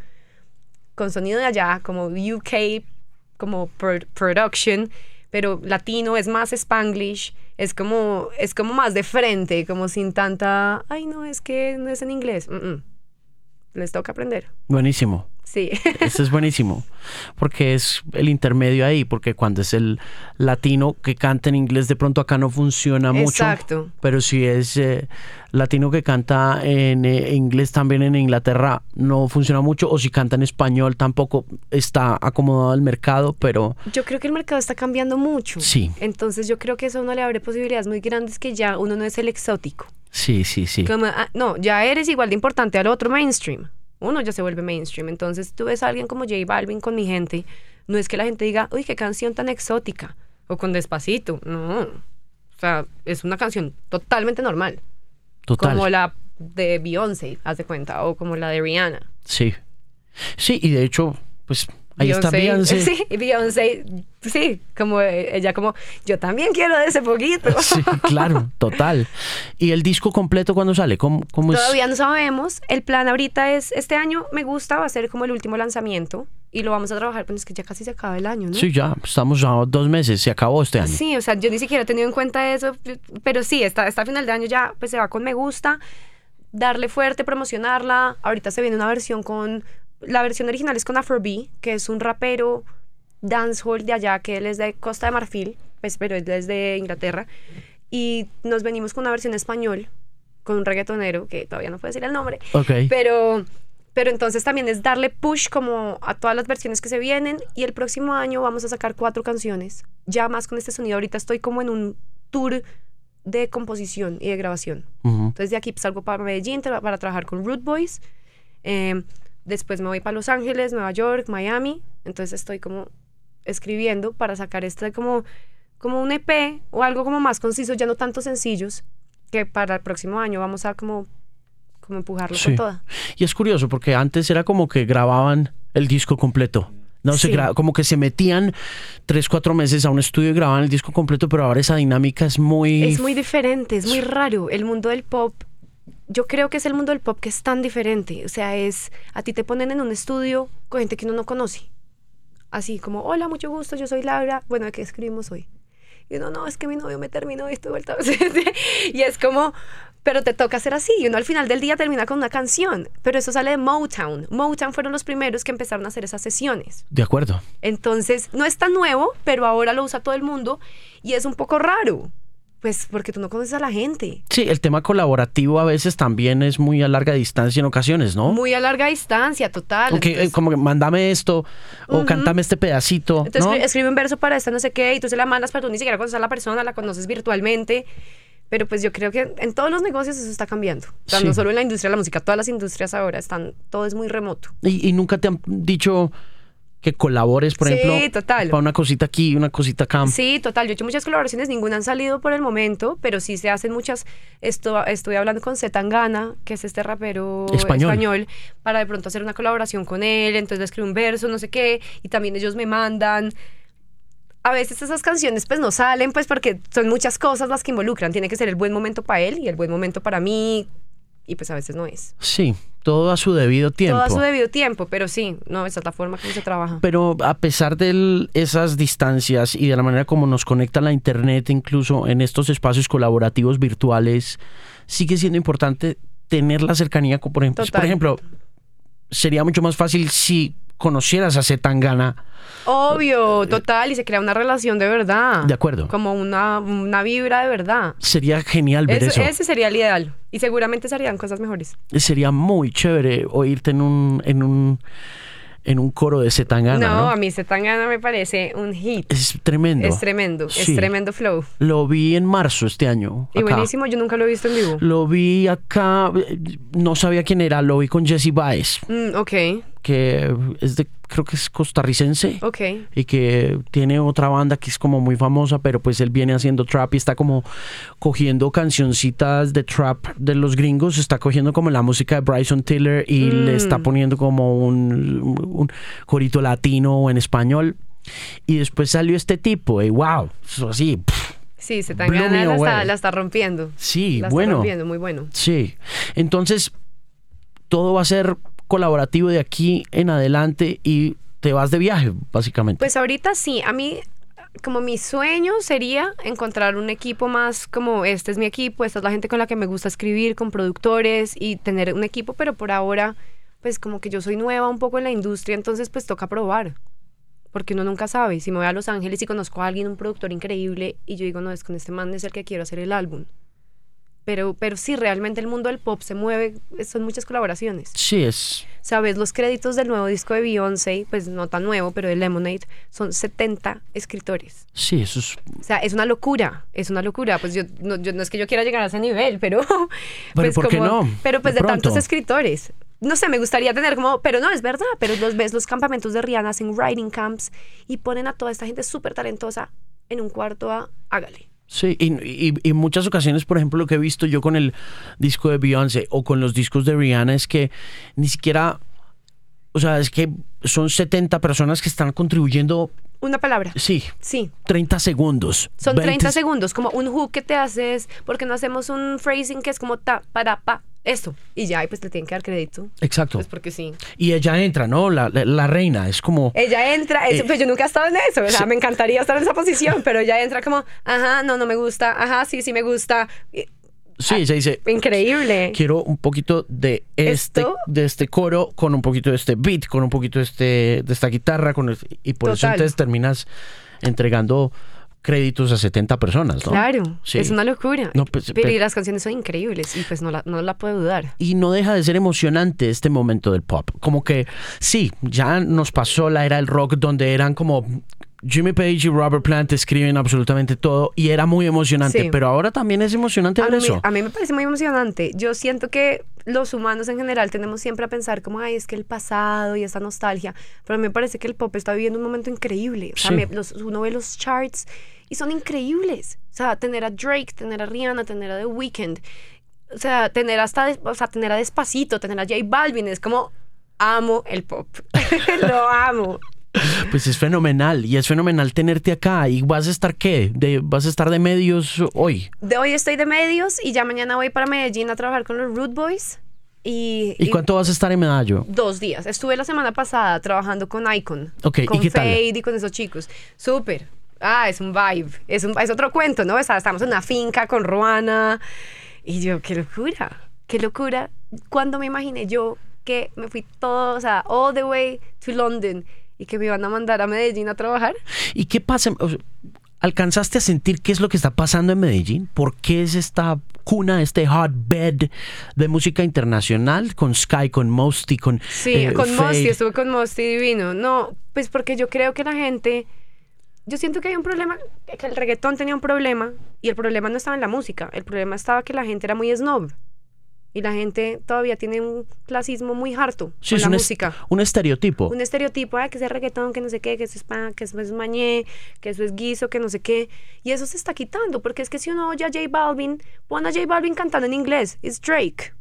con sonido de allá, como U K, como pro- production, pero latino, es más Spanglish, es como, es como más de frente, como sin tanta, ay no, es que no es en inglés, Mm-mm. les toca aprender. Buenísimo. Sí. Este es buenísimo, porque es el intermedio ahí, porque cuando es el latino que canta en inglés, de pronto acá no funciona mucho. Exacto. Pero si es eh, latino que canta en eh, inglés también en Inglaterra, no funciona mucho, o si canta en español tampoco está acomodado al mercado, pero... Yo creo que el mercado está cambiando mucho. Sí. Entonces yo creo que eso a uno le abre posibilidades muy grandes, que ya uno no es el exótico. Sí, sí, sí. Como, ah, no, ya eres igual de importante al otro mainstream. Uno ya se vuelve mainstream. Entonces tú ves a alguien como J Balvin con Mi Gente, no es que la gente diga, uy, qué canción tan exótica, o con Despacito. No, o sea, es una canción totalmente normal. Total. Como la de Beyoncé, haz de cuenta, o como la de Rihanna. Sí. Sí, y de hecho, pues ahí está Beyoncé. Sí, y Beyoncé, sí, como eh, ella como, yo también quiero de ese poquito. Sí, claro, total. ¿Y el disco completo cuándo sale? ¿Cómo, cómo es? Todavía no sabemos. El plan ahorita es, este año me gusta, va a ser como el último lanzamiento y lo vamos a trabajar, pero es que ya casi se acaba el año, ¿no? Sí, ya, estamos a dos meses, se acabó este año. Sí, o sea, yo ni siquiera he tenido en cuenta eso, pero sí, hasta, hasta final de año ya pues se va con Me Gusta, darle fuerte, promocionarla. Ahorita se viene una versión con, la versión original es con Afrobeat, que es un rapero dancehall de allá, que él es de Costa de Marfil, pues, pero él es de Inglaterra, y nos venimos con una versión español, con un reggaetonero, que todavía no puedo decir el nombre, Ok. pero... Pero entonces también es darle push como a todas las versiones que se vienen, y el próximo año vamos a sacar cuatro canciones, ya más con este sonido. Ahorita estoy como en un tour de composición y de grabación. Uh-huh. Entonces de aquí salgo para Medellín tra- para trabajar con Root Boys, eh, después me voy para Los Ángeles, Nueva York, Miami. Entonces estoy como escribiendo para sacar este como, como un E P o algo como más conciso, ya no tantos sencillos, que para el próximo año vamos a como... como empujarlo Sí. con toda. Y es curioso porque antes era como que grababan el disco completo. No se Sí. gra- como que se metían tres, cuatro meses a un estudio y grababan el disco completo, pero ahora esa dinámica es muy... Es muy diferente, es muy raro. El mundo del pop, yo creo que es el mundo del pop que es tan diferente. O sea, es, a ti te ponen en un estudio con gente que uno no conoce. Así como, hola, mucho gusto, yo soy Laura. Bueno, ¿de qué escribimos hoy? Y uno, no, es que mi novio me terminó y estoy vuelta. Y es como, pero te toca hacer así. Y uno al final del día termina con una canción. Pero eso sale de Motown. Motown fueron los primeros que empezaron a hacer esas sesiones. De acuerdo. Entonces, no es tan nuevo, pero ahora lo usa todo el mundo. Y es un poco raro. Pues porque tú no conoces a la gente. Sí, el tema colaborativo a veces también es muy a larga distancia en ocasiones, ¿no? Muy a larga distancia, total. Aunque, Entonces, eh, como que mándame esto o Ujú. cántame este pedacito, entonces ¿no? escri- escribe un verso para esta no sé qué y tú se la mandas, pero tú ni siquiera conoces a la persona, la conoces virtualmente. Pero pues yo creo que en todos los negocios eso está cambiando. O sea, Sí. no solo en la industria de la música, todas las industrias ahora están, todo es muy remoto. Y, y nunca te han dicho que colabores, por Sí, ejemplo, total. para una cosita aquí, una cosita acá. Sí, total. Yo he hecho muchas colaboraciones, ninguna han salido por el momento, pero sí se hacen muchas. Esto, estuve hablando con Z Tangana, que es este rapero Español. español, para de pronto hacer una colaboración con él. Entonces le escribo un verso, no sé qué, y también ellos me mandan. A veces esas canciones pues no salen, pues porque son muchas cosas las que involucran. Tiene que ser el buen momento para él y el buen momento para mí, y pues a veces no es. Sí, todo a su debido tiempo. Todo a su debido tiempo, pero sí, no, esa es la forma como se trabaja. Pero a pesar de esas distancias y de la manera como nos conecta la internet, incluso en estos espacios colaborativos virtuales, sigue siendo importante tener la cercanía con, por ejemplo, Total. por ejemplo, sería mucho más fácil si conocieras a Z Tangana. Obvio, total, y se crea una relación de verdad. De acuerdo. Como una, una vibra de verdad. Sería genial ver Eso- eso. Ese sería el ideal. Y seguramente se harían cosas mejores. Sería muy chévere oírte en un, en un, en un coro de Z Tangana, no, ¿no? a mí Zetangana me parece un hit. Es tremendo. Es tremendo, Sí. es tremendo flow. Lo vi en marzo este año. Y acá. buenísimo, yo nunca lo he visto en vivo. Lo vi acá, eh, no sabía quién era, lo vi con Jesse Baez, Mm, ok, que es de, creo que es costarricense. ok. Y que tiene otra banda que es como muy famosa, pero pues él viene haciendo trap y está como cogiendo cancioncitas de trap de los gringos, está cogiendo como la música de Bryson Tiller y Mm. le está poniendo como un, un corito latino o en español. Y después salió este tipo y wow, eso así, pff, Sí, Blew Zetangana me la está, away. la está rompiendo. sí, La está bueno. rompiendo, muy bueno. Sí, entonces todo va a ser colaborativo de aquí en adelante y te vas de viaje, básicamente. Pues ahorita sí, a mí como mi sueño sería encontrar un equipo más como este es mi equipo, esta es la gente con la que me gusta escribir, con productores y tener un equipo, pero por ahora pues como que yo soy nueva un poco en la industria, entonces pues toca probar. Porque uno nunca sabe. Si me voy a Los Ángeles y conozco a alguien, un productor increíble, y yo digo, no, es con este man es el que quiero hacer el álbum. Pero, pero sí, realmente el mundo del pop se mueve, son muchas colaboraciones. Sí, es... ¿Sabes? Los créditos del nuevo disco de Beyoncé, pues no tan nuevo, pero de Lemonade, son setenta escritores. Sí, eso es... O sea, es una locura, es una locura. Pues yo no, yo, no es que yo quiera llegar a ese nivel, pero... Pero pues ¿por qué como, no? Pero pues De de, pronto. tantos escritores. No sé, me gustaría tener como... Pero no, es verdad. Pero los ves, los campamentos de Rihanna hacen writing camps y ponen a toda esta gente súper talentosa en un cuarto a... Hágale. Sí, y, y, y en muchas ocasiones, por ejemplo, lo que he visto yo con el disco de Beyoncé o con los discos de Rihanna es que ni siquiera, o sea, es que son setenta personas que están contribuyendo, Una palabra. sí, Sí. treinta segundos. Son veinte treinta segundos, como un hook que te haces, porque no hacemos un phrasing que es como ta, para, pa, esto. Y ya, y pues le tienen que dar crédito. Exacto. Pues porque sí. Y ella entra, ¿no? La, la, la reina, es como... Ella entra, eso, Eh, pues yo nunca he estado en eso, o sea, sí. me encantaría estar en esa posición, pero ella entra como, ajá, no, no me gusta, ajá, sí, sí me gusta. Y- Sí, ella dice... Increíble. Quiero un poquito de este, ¿Esto? de este coro, con un poquito de este beat, con un poquito de, este, de esta guitarra, con el- y por eso Total. entonces terminas entregando créditos a setenta personas, ¿no? Claro, Sí. es una locura. No, pues, pero pe- y las canciones son increíbles y pues no la, no la puedo dudar. Y no deja de ser emocionante este momento del pop. Como que sí, ya nos pasó la era del rock donde eran como Jimmy Page y Robert Plant escriben absolutamente todo y era muy emocionante, Sí. pero ahora también es emocionante A ver mí, eso. a mí me parece muy emocionante. Yo siento que los humanos en general tenemos siempre a pensar como, ay, es que el pasado y esa nostalgia, pero a mí me parece que el pop está viviendo un momento increíble. O sea, Sí. me- los, uno ve los charts y son increíbles. O sea, tener a Drake, tener a Rihanna, tener a The Weeknd, o sea, tener hasta, des- o sea, tener a Despacito, tener a J Balvin, es como, amo el pop. Lo amo. Pues es fenomenal y es fenomenal tenerte acá. ¿Y vas a estar qué? De, ¿Vas a estar de medios hoy? De hoy estoy de medios y ya mañana voy para Medellín a trabajar con los Rude Boys. Y, ¿Y cuánto vas a estar en Medallo? Dos días. Estuve la semana pasada trabajando con Icon. Ok, ¿y con qué tal? Fade y con esos chicos. Súper. Ah, es un vibe. Es, un, es otro cuento, ¿no? O sea, estamos en una finca con Ruana. Y yo, qué locura. Qué locura. Cuando me imaginé yo que me fui todo, o sea, all the way to London y que me iban a mandar a Medellín a trabajar. ¿Y qué pasa? O sea, ¿alcanzaste a sentir qué es lo que está pasando en Medellín? ¿Por qué es esta cuna, este hotbed de música internacional con Sky, con Mosty, con Sí, eh, con Fade? Mosty, estuve con Mosty divino. No, pues porque yo creo que la gente, yo siento que hay un problema, que el reggaetón tenía un problema y el problema no estaba en la música, el problema estaba que la gente era muy snob y la gente todavía tiene un clasismo muy harto Sí, con es la un, es- música. un estereotipo. Un estereotipo, ah, que es reggaetón, que no sé qué, que eso es pa, que eso es mañé, que eso es guiso, que no sé qué. Y eso se está quitando, porque es que si uno oye a J Balvin, pon a J Balvin cantando en inglés, es Drake.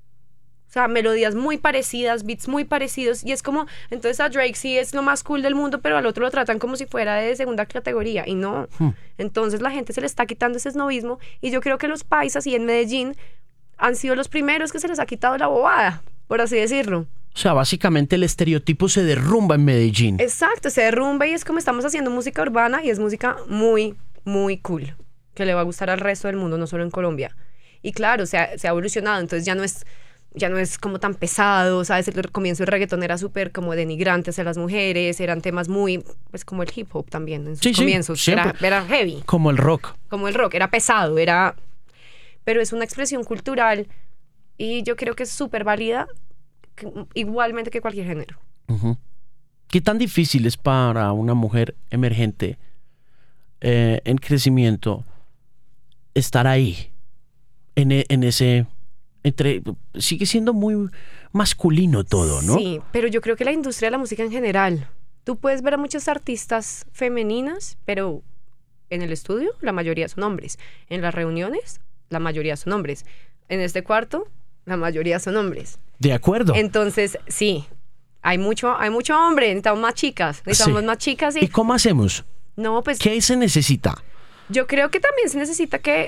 O sea, melodías muy parecidas, beats muy parecidos, y es como, entonces a Drake sí es lo más cool del mundo, pero al otro lo tratan como si fuera de segunda categoría, y no. Hmm. Entonces la gente se le está quitando ese snobismo, y yo creo que los paisas y en Medellín han sido los primeros que se les ha quitado la bobada, por así decirlo. O sea, básicamente el estereotipo se derrumba en Medellín. Exacto, se derrumba y es como estamos haciendo música urbana y es música muy, muy cool, que le va a gustar al resto del mundo, no solo en Colombia. Y claro, se ha, se ha evolucionado, entonces ya no es ya no es como tan pesado, ¿sabes? El comienzo del reggaetón era súper como denigrante hacia las mujeres, eran temas muy, pues como el hip hop también en sus Sí, sí, comienzos, era, siempre. era heavy, Como el rock. como el rock, era pesado, era... Pero es una expresión cultural y yo creo que es súper válida, que- igualmente que cualquier género. Ujú. ¿Qué tan difícil es para una mujer emergente eh, en crecimiento estar ahí, en, e- en ese... entre sigue siendo muy masculino todo, ¿no? Sí, pero yo creo que la industria de la música en general, tú puedes ver a muchas artistas femeninas, pero en el estudio la mayoría son hombres. En las reuniones la mayoría son hombres. En este cuarto la mayoría son hombres. De acuerdo. Entonces, sí, hay mucho, hay mucho hombre, necesitamos más chicas, necesitamos Sí. más chicas y... ¿Y cómo hacemos? No, pues ¿Qué se necesita? yo creo que también se necesita que...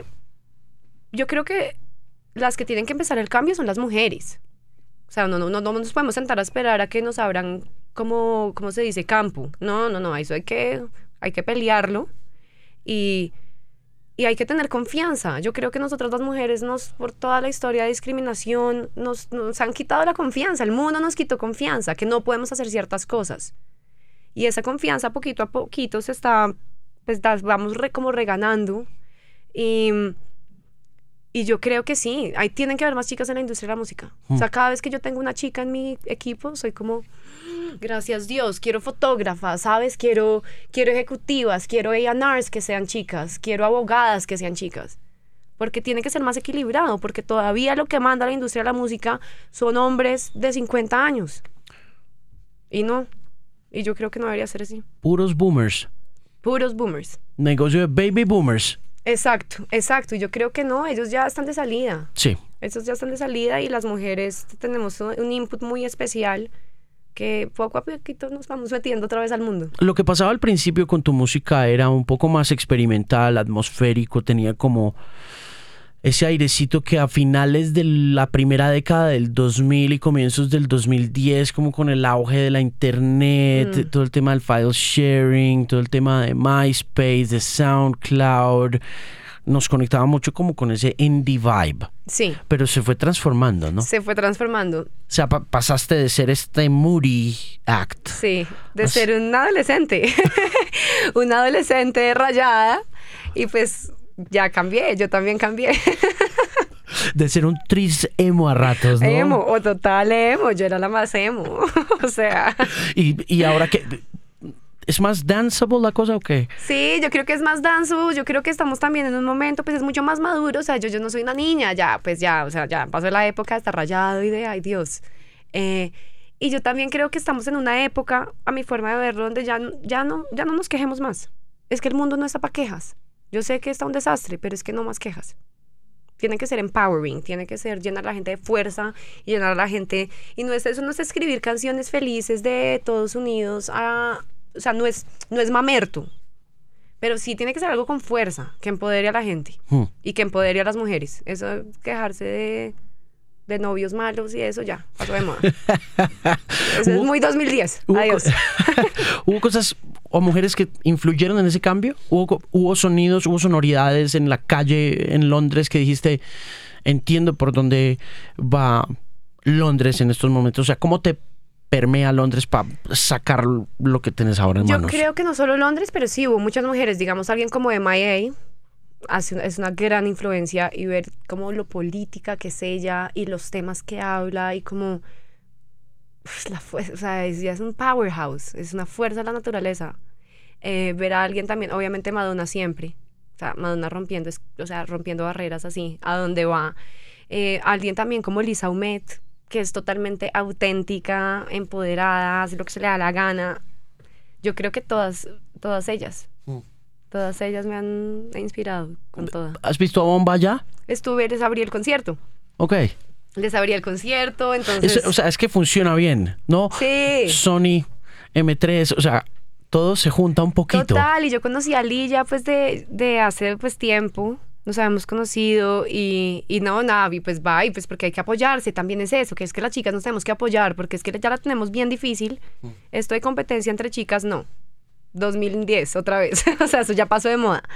Yo creo que las que tienen que empezar el cambio son las mujeres. O sea, no, no, no, no nos podemos sentar a esperar a que nos abran, como, ¿cómo se dice? Campo. No, no, no, eso hay que, hay que pelearlo. Y, y hay que tener confianza. Yo creo que nosotras las mujeres, nos, por toda la historia de discriminación, nos, nos han quitado la confianza. El mundo nos quitó confianza, que no podemos hacer ciertas cosas. Y esa confianza poquito a poquito se está, pues vamos re, como reganando. Y, y yo creo que sí, ahí tienen que haber más chicas en la industria de la música. Mm. O sea, cada vez que yo tengo una chica en mi equipo, soy como, gracias Dios, quiero fotógrafas, ¿sabes? Quiero, quiero ejecutivas, quiero A and Rs que sean chicas, quiero abogadas que sean chicas. Porque tiene que ser más equilibrado, porque todavía lo que manda la industria de la música son hombres de cincuenta años. Y no, y yo creo que no debería ser así. Puros boomers. Puros boomers. Negocio de baby boomers. Exacto, exacto. Y yo creo que no, ellos ya están de salida. Sí. Ellos ya están de salida y las mujeres tenemos un input muy especial que poco a poquito nos vamos metiendo otra vez al mundo. Lo que pasaba al principio con tu música era un poco más experimental, atmosférico, tenía como ese airecito que a finales de la primera década del dos mil y comienzos del dos mil diez, como con el auge de la internet, mm. todo el tema del file sharing, todo el tema de MySpace, de SoundCloud, nos conectaba mucho como con ese indie vibe. Sí. Pero se fue transformando, ¿no? Se fue transformando. O sea, pa- pasaste de ser este moody act. Sí, de o ser sea... un adolescente. Una adolescente rayada y pues... Ya cambié, yo también cambié. De ser un tris emo a ratos, ¿no? Emo, o total emo, yo era la más emo. O sea... ¿Y, y ahora qué? ¿Es más danceable la cosa o qué? Sí, yo creo que es más danceable, yo creo que estamos también en un momento, pues es mucho más maduro, o sea, yo, yo no soy una niña, ya, pues ya, o sea, ya pasó la época de estar rayado y de, ay Dios. Eh, y yo también creo que estamos en una época, a mi forma de verlo, donde ya, ya, no, ya no nos quejemos más. Es que el mundo no está para quejas. Yo sé que está un desastre, pero es que no más quejas. Tiene que ser empowering, tiene que ser llenar a la gente de fuerza y llenar a la gente... Y no es eso, no es escribir canciones felices de todos unidos a... O sea, no es, no es mamerto, pero sí tiene que ser algo con fuerza, que empodere a la gente hmm. y que empodere a las mujeres. Eso, quejarse de, de novios malos y eso ya, pasó de moda. Eso es muy dos mil diez. Adiós. ¿Hubo cosas o mujeres que influyeron en ese cambio? ¿Hubo, hubo sonidos, hubo sonoridades en la calle en Londres que dijiste, entiendo por dónde va Londres en estos momentos? O sea, ¿cómo te permea Londres para sacar lo que tienes ahora en Yo manos? Yo creo que no solo Londres, pero sí hubo muchas mujeres. Digamos, alguien como M I A hace, es una gran influencia, y ver como lo política que es ella y los temas que habla y como... La fu- o sea, es, es un powerhouse, es una fuerza de la naturaleza. Eh, ver a alguien también, obviamente Madonna siempre. O sea, Madonna rompiendo, o sea, rompiendo barreras así, a donde va. Eh, alguien también como Lisa Humet, que es totalmente auténtica, empoderada, hace lo que se le da la gana. Yo creo que todas, todas ellas, mm. todas ellas me han inspirado con toda. ¿Has visto a Bomba ya? Estuve, les abrí el concierto. Ok. Les abrí el concierto, entonces... Es, o sea, es que funciona bien, ¿no? Sí. Sony, eme tres, o sea, todo se junta un poquito. Total, y yo conocí a Lilla pues de, de hace pues tiempo. Nos habíamos conocido y, y no, nada, y pues va, y pues porque hay que apoyarse, también es eso, que es que las chicas nos tenemos que apoyar, porque es que ya la tenemos bien difícil. Mm. Esto de competencia entre chicas, no. dos mil diez, otra vez. O sea, eso ya pasó de moda.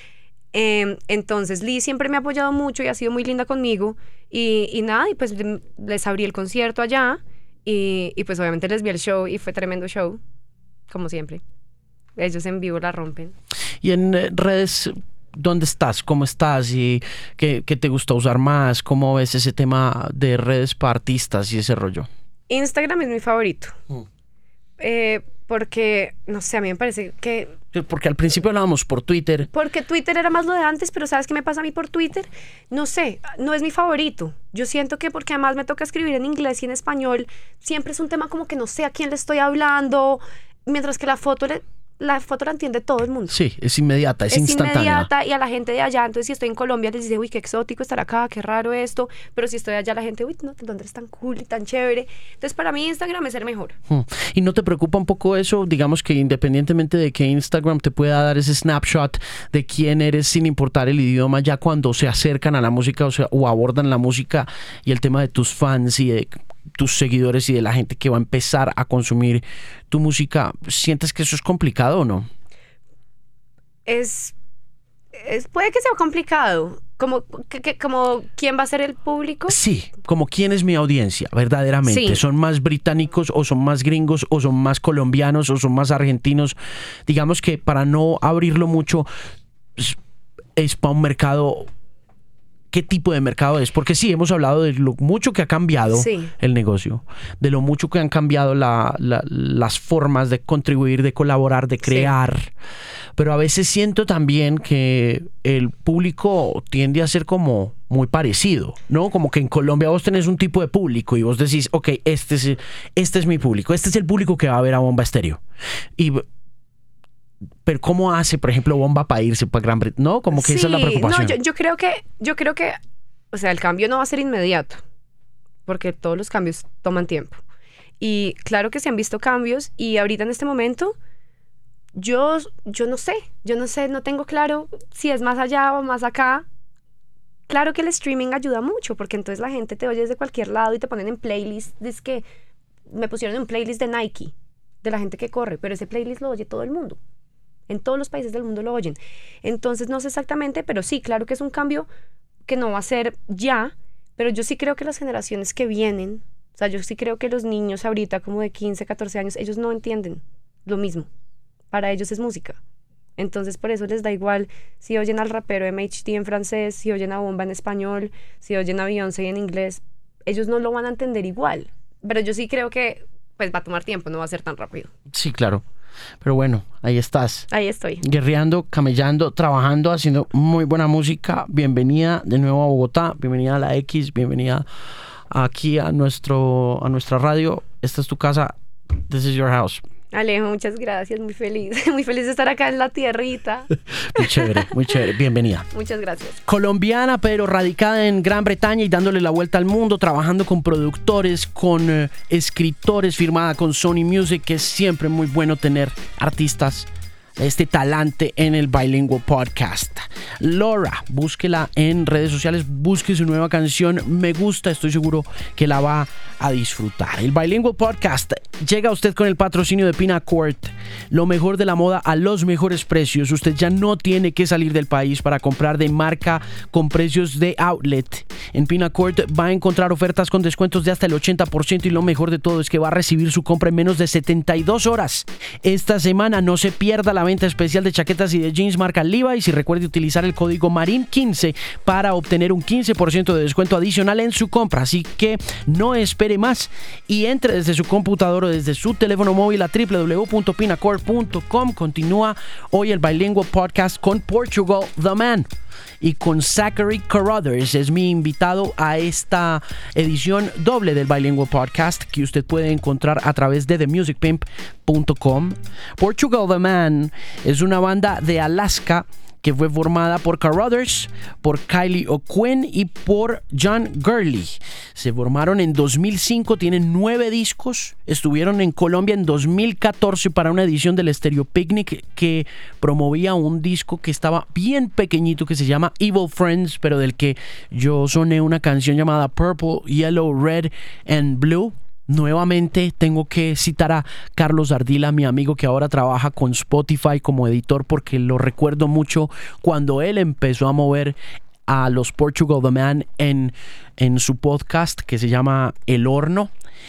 Eh, entonces, Liz siempre me ha apoyado mucho y ha sido muy linda conmigo. Y, y nada, y pues les abrí el concierto allá y, y pues obviamente les vi el show y fue tremendo show, como siempre. Ellos en vivo la rompen. Y en eh, redes... ¿Dónde estás? ¿Cómo estás? ¿Y qué, qué te gusta usar más? ¿Cómo ves ese tema de redes para artistas y ese rollo? Instagram es mi favorito. Mm. Eh, porque, no sé, a mí me parece que... Porque al principio hablábamos por Twitter. Porque Twitter era más lo de antes, pero ¿sabes qué me pasa a mí por Twitter? No sé, no es mi favorito. Yo siento que porque además me toca escribir en inglés y en español, siempre es un tema como que no sé a quién le estoy hablando, mientras que la foto le... La foto la entiende todo el mundo. Sí, es inmediata, es, es instantánea. Es inmediata y a la gente de allá, entonces si estoy en Colombia les dice, uy, qué exótico estar acá, qué raro esto, pero si estoy allá la gente, uy, no, Londres es tan cool y tan chévere. Entonces para mí Instagram es el mejor. Hmm. ¿Y no te preocupa un poco eso? Digamos que independientemente de que Instagram te pueda dar ese snapshot de quién eres sin importar el idioma, ya cuando se acercan a la música o, sea, o abordan la música y el tema de tus fans y de tus seguidores y de la gente que va a empezar a consumir tu música, ¿sientes que eso es complicado o no? Es, es, puede que sea complicado. Como, que, que, como ¿quién va a ser el público? Sí, como quién es mi audiencia, verdaderamente. Sí. ¿Son más británicos o son más gringos o son más colombianos o son más argentinos? Digamos que para no abrirlo mucho, es, es para un mercado... ¿Qué tipo de mercado es? Porque sí, hemos hablado de lo mucho que ha cambiado Sí. el negocio, de lo mucho que han cambiado la, la, las formas de contribuir, de colaborar, de crear. Sí. Pero a veces siento también que el público tiende a ser como muy parecido, ¿no? Como que en Colombia vos tenés un tipo de público y vos decís, ok, este es, este es mi público, este es el público que va a ver a Bomba Estéreo. Y... Pero ¿cómo hace, por ejemplo, Bomba para irse para Gran Bretaña? No, como que sí, esa es la preocupación. No, yo, yo creo que, yo creo que, o sea, el cambio no va a ser inmediato, porque todos los cambios toman tiempo. Y claro que se han visto cambios y ahorita en este momento, yo, yo no sé, yo no sé, no tengo claro si es más allá o más acá. Claro que el streaming ayuda mucho, porque entonces la gente te oye desde cualquier lado y te ponen en playlist. Es que me pusieron en playlist de Nike, de la gente que corre, pero ese playlist lo oye todo el mundo. En todos los países del mundo lo oyen. Entonces no sé exactamente, pero sí, claro que es un cambio que no va a ser ya, pero yo sí creo que las generaciones que vienen, o sea, yo sí creo que los niños ahorita como de quince, catorce años, ellos no entienden lo mismo. Para ellos es música. Entonces por eso les da igual si oyen al rapero M H D en francés, si oyen a Bomba en español, si oyen a Beyoncé en inglés. Ellos no lo van a entender igual. Pero yo sí creo que pues va a tomar tiempo, no va a ser tan rápido. Sí, claro. Pero bueno, ahí estás. Ahí estoy. Guerreando, camellando, trabajando, haciendo muy buena música. Bienvenida de nuevo a Bogotá. Bienvenida a la X. Bienvenida aquí a, nuestro, a nuestra radio. Esta es tu casa. This is your house. Alejo, muchas gracias. Muy feliz. Muy feliz de estar acá en la tierrita. Muy chévere, muy chévere. Bienvenida. Muchas gracias. Colombiana, pero radicada en Gran Bretaña y dándole la vuelta al mundo, trabajando con productores, con eh, escritores, firmada con Sony Music, que es siempre muy bueno tener artistas este talante en el Bilingual Podcast. Laura, búsquela en redes sociales, busque su nueva canción, Me Gusta, estoy seguro que la va a disfrutar. El Bilingual Podcast llega a usted con el patrocinio de Pinacourt, lo mejor de la moda a los mejores precios. Usted ya no tiene que salir del país para comprar de marca con precios de outlet. En Pinacourt va a encontrar ofertas con descuentos de hasta el ochenta por ciento y lo mejor de todo es que va a recibir su compra en menos de setenta y dos horas. Esta semana no se pierda la venta especial de chaquetas y de jeans marca Levi's y recuerde utilizar el código Marín quince para obtener un quince por ciento de descuento adicional en su compra, así que no espere más y entre desde su computador o desde su teléfono móvil a doble u doble u doble u punto pinacourt punto com. Continúa hoy el Bilingual Podcast con Portugal The Man y con Zachary Carruthers. Es mi invitado a esta edición doble del Bilingual Podcast que usted puede encontrar a través de the music pimp punto com. Portugal The Man es una banda de Alaska que fue formada por Carruthers, por Kylie O'Quinn y por John Gurley. Se formaron en dos mil cinco, tienen nueve discos, estuvieron en Colombia en dos mil catorce para una edición del Stereo Picnic que promovía un disco que estaba bien pequeñito que se llama Evil Friends, pero del que yo soné una canción llamada Purple, Yellow, Red and Blue. Nuevamente tengo que citar a Carlos Ardila, mi amigo que ahora trabaja con Spotify como editor, porque lo recuerdo mucho cuando él empezó a mover a los Portugal The Man en, en su podcast que se llama El Horno.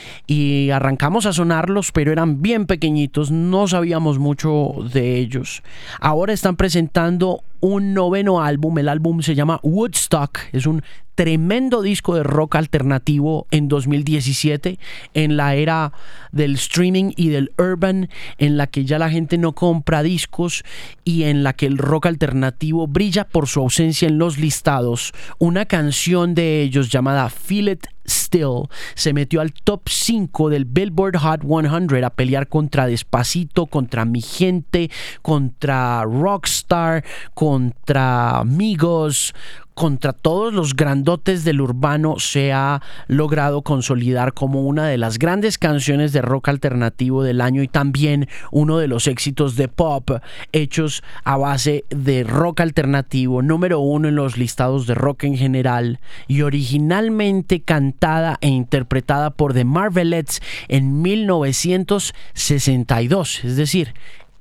Y arrancamos a sonarlos, pero eran bien pequeñitos, no sabíamos mucho de ellos. Ahora están presentando un noveno álbum, el álbum se llama Woodstock, es un tremendo disco de rock alternativo en dos mil diecisiete, en la era del streaming y del urban, en la que ya la gente no compra discos y en la que el rock alternativo brilla por su ausencia en los listados. Una canción de ellos llamada Feel It Still se metió al top cinco del Billboard Hot cien a pelear contra Despacito, contra Mi Gente, contra Rockstar, contra Migos, contra todos los grandotes del urbano. Se ha logrado consolidar como una de las grandes canciones de rock alternativo del año y también uno de los éxitos de pop hechos a base de rock alternativo, número uno en los listados de rock en general y originalmente cantada e interpretada por The Marvelettes en mil novecientos sesenta y dos, es decir,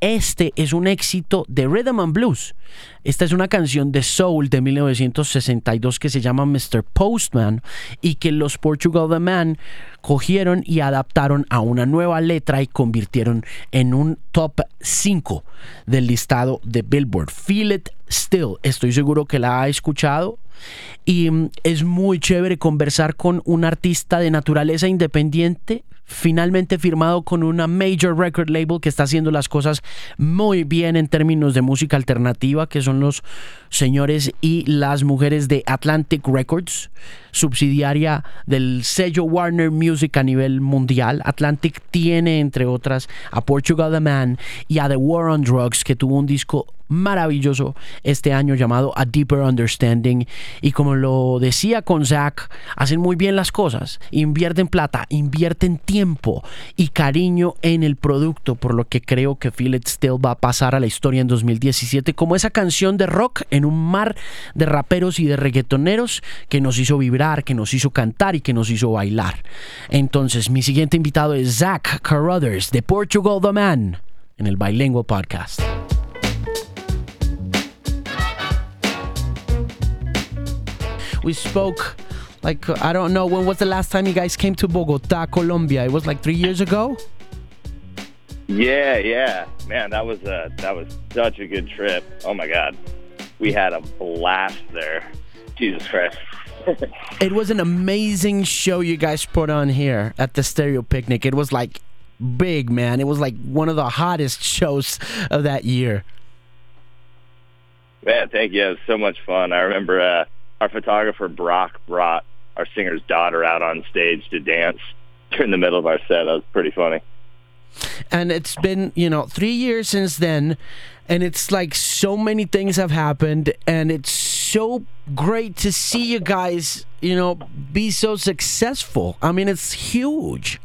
este es un éxito de Rhythm and Blues. Esta es una canción de soul de mil novecientos sesenta y dos que se llama mister Postman y que los Portugal The Man cogieron y adaptaron a una nueva letra y convirtieron en un top cinco del listado de Billboard. Feel It Still, estoy seguro que la ha escuchado y mm, es muy chévere conversar con un artista de naturaleza independiente, finalmente firmado con una major record label que está haciendo las cosas muy bien en términos de música alternativa, que son los señores y las mujeres de Atlantic Records, subsidiaria del sello Warner Music a nivel mundial. Atlantic tiene, entre otras, a Portugal The Man y a The War on Drugs, que tuvo un disco maravilloso este año llamado A Deeper Understanding. Y como lo decía con Zach, hacen muy bien las cosas, invierten plata, invierten tiempo y cariño en el producto, por lo que creo que Feel It Still va a pasar a la historia en dos mil diecisiete como esa canción de rock en un mar de raperos y de reggaetoneros que nos hizo vibrar, que nos hizo cantar y que nos hizo bailar. Entonces mi siguiente invitado es Zach Carruthers de Portugal The Man en el Bilingual Podcast. We spoke, like, I don't know, when was the last time you guys came to Bogota, Colombia? It was like three years ago? Yeah, yeah. Man, that was a, that was such a good trip. Oh, my God. We had a blast there. Jesus Christ. It was an amazing show you guys put on here at the Stereo Picnic. It was, like, big, man. It was, like, one of the hottest shows of that year. Man, thank you. It was so much fun. I remember... Uh, Our photographer, Brock, brought our singer's daughter out on stage to dance during the middle of our set. That was pretty funny. And it's been, you know, three years since then, and it's like so many things have happened, and it's so great to see you guys, you know, be so successful. I mean, it's huge.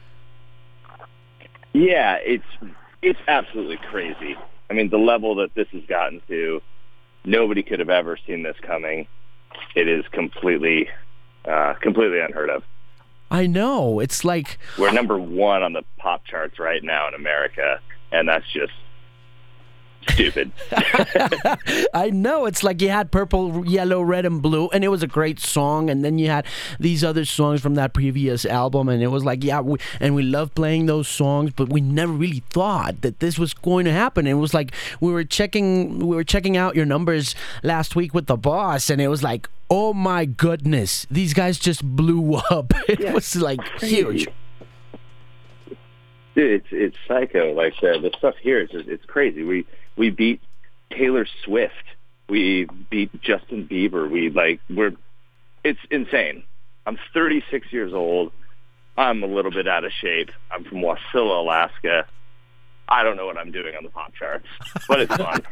Yeah, it's it's absolutely crazy. I mean, the level that this has gotten to, nobody could have ever seen this coming. It is completely, uh, completely unheard of. I know. It's like... We're number one on the pop charts right now in America, and that's just stupid. I know. It's like you had Purple, Yellow, Red, and Blue, and it was a great song, and then you had these other songs from that previous album, and it was like, yeah, we, and we love playing those songs, but we never really thought that this was going to happen. It was like we were checking, we were checking out your numbers last week with the boss, and it was like, oh my goodness, these guys just blew up. It yeah, was like huge. Dude, it's it's psycho. Like uh, the stuff here is just, it's crazy. We we beat Taylor Swift. We beat Justin Bieber. We like we're it's insane. I'm thirty-six years old. I'm a little bit out of shape. I'm from Wasilla, Alaska. I don't know what I'm doing on the pop charts, but it's fun.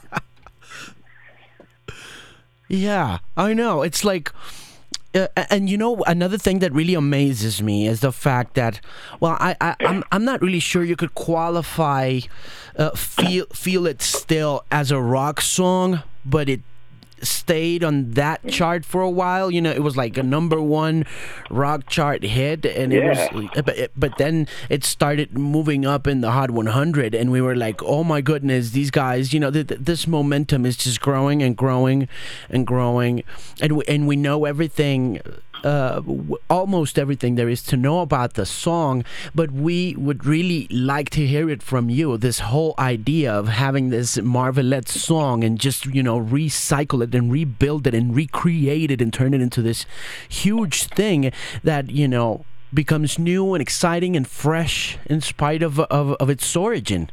Yeah, I know. It's like, uh, and you know, another thing that really amazes me is the fact that, well, I, I I'm I'm not really sure you could qualify, uh, feel feel it still as a rock song, but it stayed on that chart for a while. You know, it was like a number one rock chart hit, and it yeah. was, but, but then it started moving up in the Hot one hundred, and we were like, oh my goodness, these guys, you know, th- th- this momentum is just growing and growing and growing, and we, and we know everything. Uh, w- almost everything there is to know about the song, but we would really like to hear it from you. This whole idea of having this Marvelette song and just, you know, recycle it and rebuild it and recreate it and turn it into this huge thing that, you know, becomes new and exciting and fresh in spite of of, of its origin.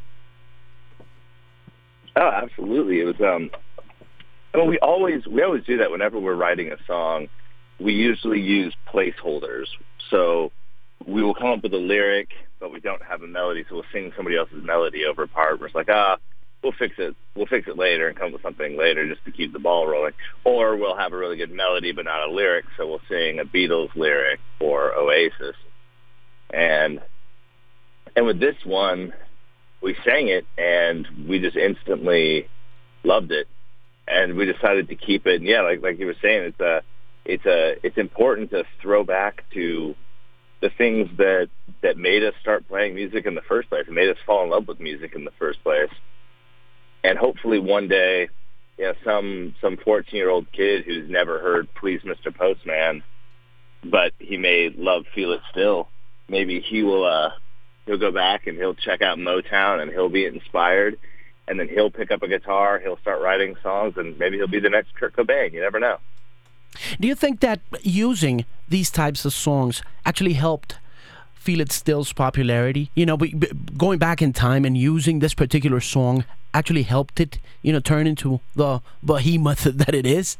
Oh, absolutely. It was. Um, well, we always we always do that whenever we're writing a song. We usually use placeholders. So we will come up with a lyric, but we don't have a melody, so we'll sing somebody else's melody over a part. We're like, ah, we'll fix it. We'll fix it later and come up with something later just to keep the ball rolling. Or we'll have a really good melody, but not a lyric, so we'll sing a Beatles lyric or Oasis. And and with this one, we sang it, and we just instantly loved it. And we decided to keep it. And yeah, like like you were saying, it's a It's a it's important to throw back to the things that, that made us start playing music in the first place, and made us fall in love with music in the first place. And hopefully one day, you know, some some fourteen-year-old kid who's never heard Please Mister Postman, but he may love Feel It Still, maybe he will uh, he'll go back and he'll check out Motown and he'll be inspired, and then he'll pick up a guitar, he'll start writing songs, and maybe he'll be the next Kurt Cobain. You never know. Do you think that using these types of songs actually helped Feel It Still's popularity? You know, b- b- going back in time and using this particular song actually helped it, you know, turn into the behemoth that it is?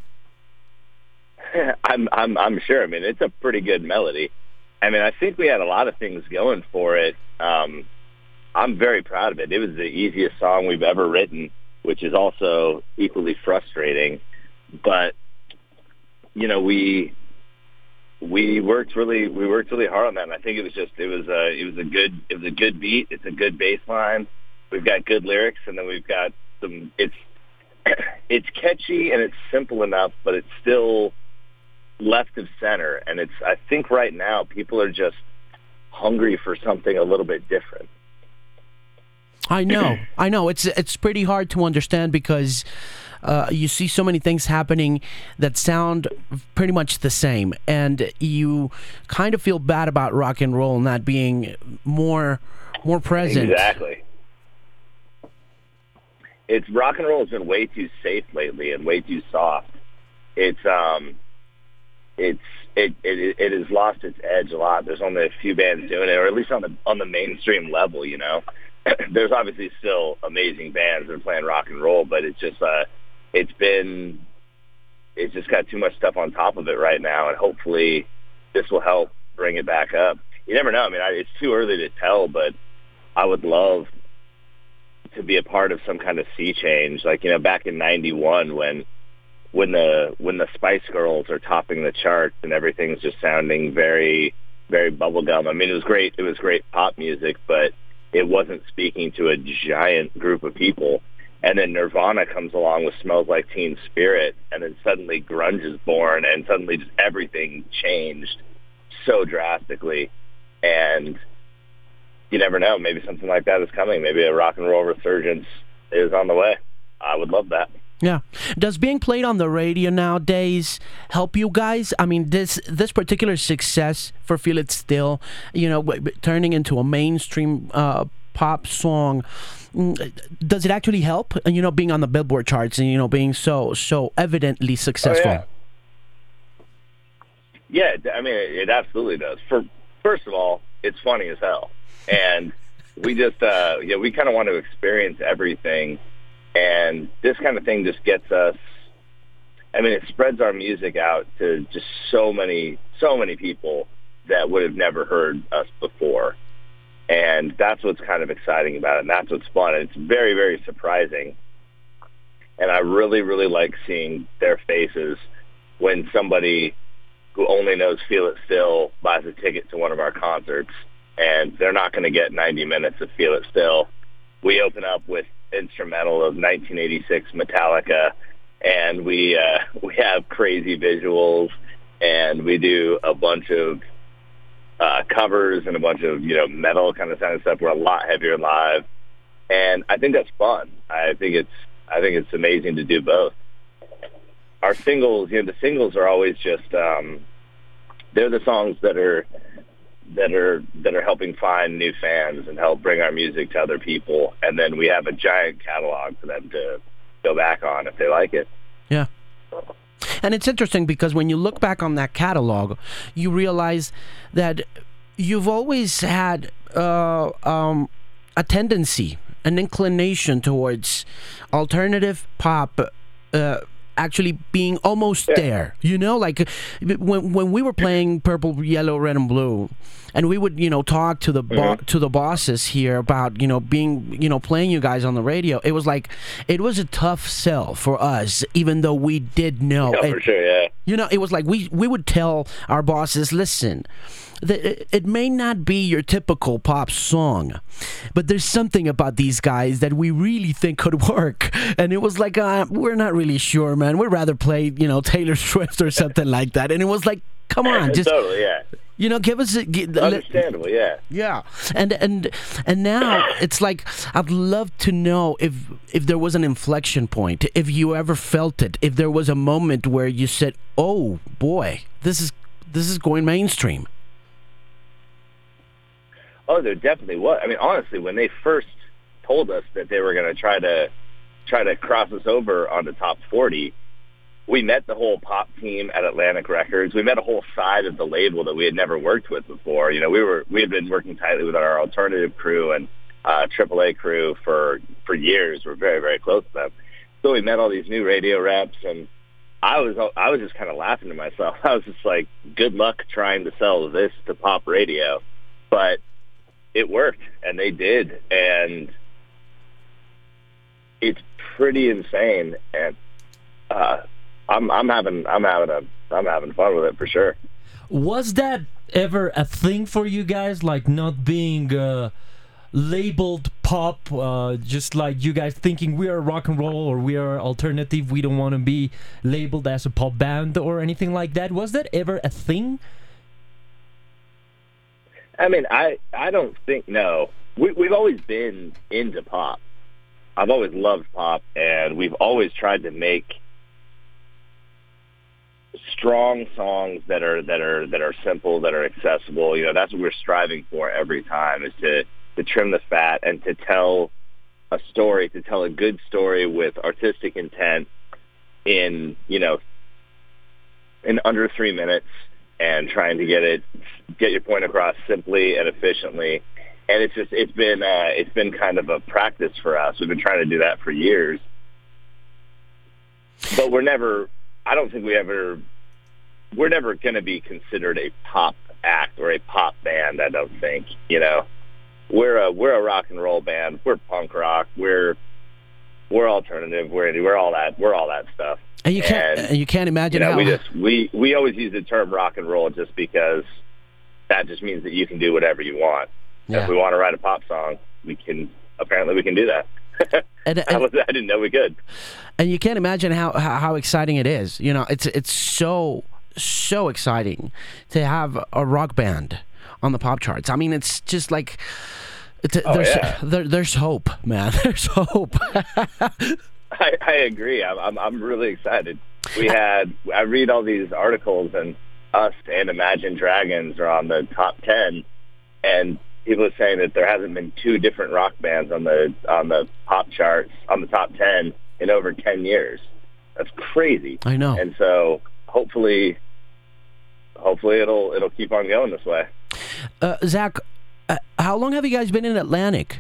I'm, I'm, I'm sure. I mean, it's a pretty good melody. I mean, I think we had a lot of things going for it. Um, I'm very proud of it. It was the easiest song we've ever written, which is also equally frustrating. But, you know, we we worked really we worked really hard on that. And I think it was just it was a it was a good it was a good beat. It's a good bass line. We've got good lyrics, and then we've got some. It's it's catchy and it's simple enough, but it's still left of center. And it's I think right now people are just hungry for something a little bit different. I know, I know. It's it's pretty hard to understand because uh, you see so many things happening that sound pretty much the same, and you kind of feel bad about rock and roll not being more more present. Exactly. It's rock and roll has been way too safe lately and way too soft. It's um, it's it it it has lost its edge a lot. There's only a few bands doing it, or at least on the on the mainstream level, you know. There's obviously still amazing bands that are playing rock and roll, but it's just uh, it's been it's just got too much stuff on top of it right now, and hopefully this will help bring it back up. You never know. I mean, I, it's too early to tell, but I would love to be a part of some kind of sea change, like, you know, back in ninety-one when when the when the Spice Girls are topping the charts and everything's just sounding very very bubblegum. I mean, it was great. It was great pop music, but it wasn't speaking to a giant group of people. And then Nirvana comes along with Smells Like Teen Spirit, and then suddenly grunge is born, and suddenly just everything changed so drastically. And you never know. Maybe something like that is coming. Maybe a rock and roll resurgence is on the way. I would love that. Yeah. Does being played on the radio nowadays help you guys? I mean, this this particular success for Feel It Still, you know, turning into a mainstream uh, pop song, does it actually help? You know, being on the Billboard charts and, you know, being so so evidently successful. Oh, yeah. yeah, I mean, it, it absolutely does. For first of all, it's funny as hell. And we just, uh, yeah, we kind of want to experience everything. And this kind of thing just gets us, I mean, it spreads our music out to just so many, so many people that would have never heard us before. And that's what's kind of exciting about it. And that's what's fun. And it's very, very surprising. And I really, really like seeing their faces when somebody who only knows Feel It Still buys a ticket to one of our concerts. And they're not going to get ninety minutes of Feel It Still. We open up with instrumental of nineteen eighty-six Metallica, and we uh, we have crazy visuals, and we do a bunch of uh, covers and a bunch of, you know, metal kind of sound stuff. We're a lot heavier live, and I think that's fun. I think it's I think it's amazing to do both. Our singles, you know, the singles are always just um, they're the songs that are. that are that are helping find new fans and help bring our music to other people, and then we have a giant catalog for them to go back on if they like it. Yeah. And it's interesting because when you look back on that catalog, you realize that you've always had uh, um, a tendency, an inclination towards alternative pop, uh, actually being almost yeah. there, you know, like when when we were playing Purple, Yellow, Red, and Blue, and we would, you know, talk to the bo- mm-hmm. to the bosses here about, you know, being, you know, playing you guys on the radio. It was like it was a tough sell for us, even though we did know. Yeah, for sure, yeah. You know, it was like we we would tell our bosses, listen, the, it may not be your typical pop song, but there's something about these guys that we really think could work. And it was like, uh, we're not really sure, man. We'd rather play, you know, Taylor Swift or something like that. And it was like, come on, just totally, yeah. You know, give us a, give, understandable, yeah, yeah, and and and now it's like I'd love to know if if there was an inflection point, if you ever felt it, if there was a moment where you said, "Oh boy, this is this is going mainstream." Oh, there definitely was. I mean, honestly, when they first told us that they were going to try to try to cross us over on the top forty. We met the whole pop team at Atlantic Records. We met a whole side of the label that we had never worked with before. You know, we were we had been working tightly with our alternative crew and uh, triple A crew for for years. We're very very close to them. So we met all these new radio reps, and I was I was just kind of laughing to myself. I was just like, good luck trying to sell this to pop radio, but it worked, and they did, and it's pretty insane. And uh, I'm I'm having I'm having a I'm having fun with it for sure. Was that ever a thing for you guys, like not being uh, labeled pop, uh, just like you guys thinking we are rock and roll or we are alternative, we don't want to be labeled as a pop band or anything like that? Was that ever a thing? I mean, I I don't think no. We, we've always been into pop. I've always loved pop, and we've always tried to make strong songs that are that are that are simple, that are accessible. You know, that's what we're striving for every time, is to to trim the fat and to tell a story, to tell a good story with artistic intent in, you know, in under three minutes, and trying to get it get your point across simply and efficiently. And it's just it's been uh, it's been kind of a practice for us. We've been trying to do that for years, but we're never. I don't think we ever, we're never going to be considered a pop act or a pop band. I don't think, you know, we're a, we're a rock and roll band. We're punk rock. We're, we're alternative. We're, we're all that, we're all that stuff. And you can't, and, and you can't imagine you know, how we just, we, we always use the term rock and roll just because that just means that you can do whatever you want. Yeah. If we want to write a pop song, we can, apparently we can do that. And, and, I, was, I didn't know we could. And you can't imagine how, how how exciting it is. You know, it's it's so so exciting to have a rock band on the pop charts. I mean, it's just like it's, oh, there's yeah. there, there's hope, man. There's hope. I, I agree. I'm, I'm I'm really excited. We had I read all these articles, and us and Imagine Dragons are on the top ten, and people are saying that there hasn't been two different rock bands on the on the pop charts on the top ten in over ten years. That's crazy. I know. And so hopefully, hopefully it'll it'll keep on going this way. Uh, Zach, uh, how long have you guys been in Atlantic?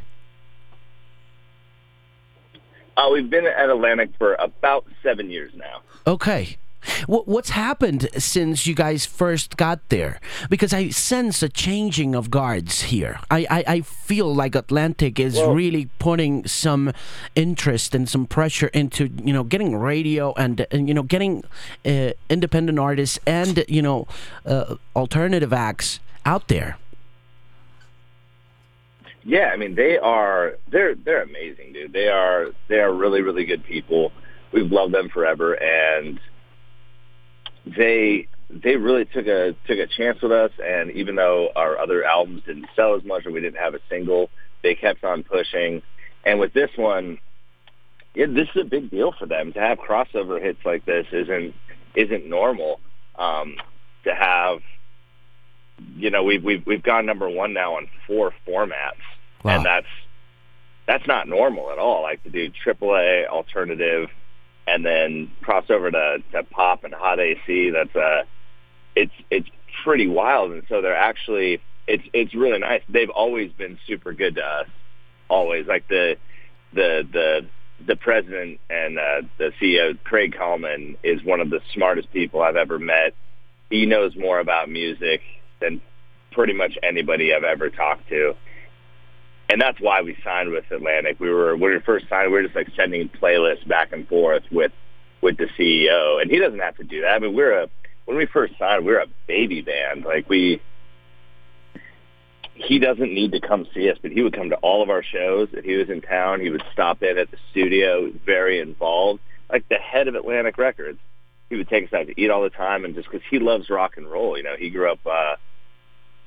Uh, we've been at Atlantic for about seven years now. Okay. What, what's happened since you guys first got there? Because I sense a changing of guards here. I, I, I feel like Atlantic is well, really putting some interest and some pressure into, you know, getting radio and, and you know, getting uh, independent artists and, you know, uh, alternative acts out there. Yeah, I mean, they are, they're, they're amazing, dude. They are, they are really, really good people. We've loved them forever, and they they really took a took a chance with us, and even though our other albums didn't sell as much or we didn't have a single, they kept on pushing. And with this one, yeah, this is a big deal for them. To have crossover hits like this isn't isn't normal. Um, to have, you know, we've we've we've gone number one now on four formats, wow. and that's that's not normal at all. Like to do triple A, alternative, and then cross over to, to pop and hot A C. That's uh it's it's pretty wild. And so they're actually it's it's really nice. They've always been super good to us. Always. Like the the the the president and uh, the C E O, Craig Kallman, is one of the smartest people I've ever met. He knows more about music than pretty much anybody I've ever talked to. And that's why we signed with Atlantic. We were when we first signed, we were just like sending playlists back and forth with with the C E O, and he doesn't have to do that. I mean, we're a when we first signed, we were a baby band. Like we, he doesn't need to come see us, but he would come to all of our shows. If he was in town, he would stop in at the studio. He was very involved, like the head of Atlantic Records. He would take us out to eat all the time, and just because he loves rock and roll, you know, he grew up. Uh,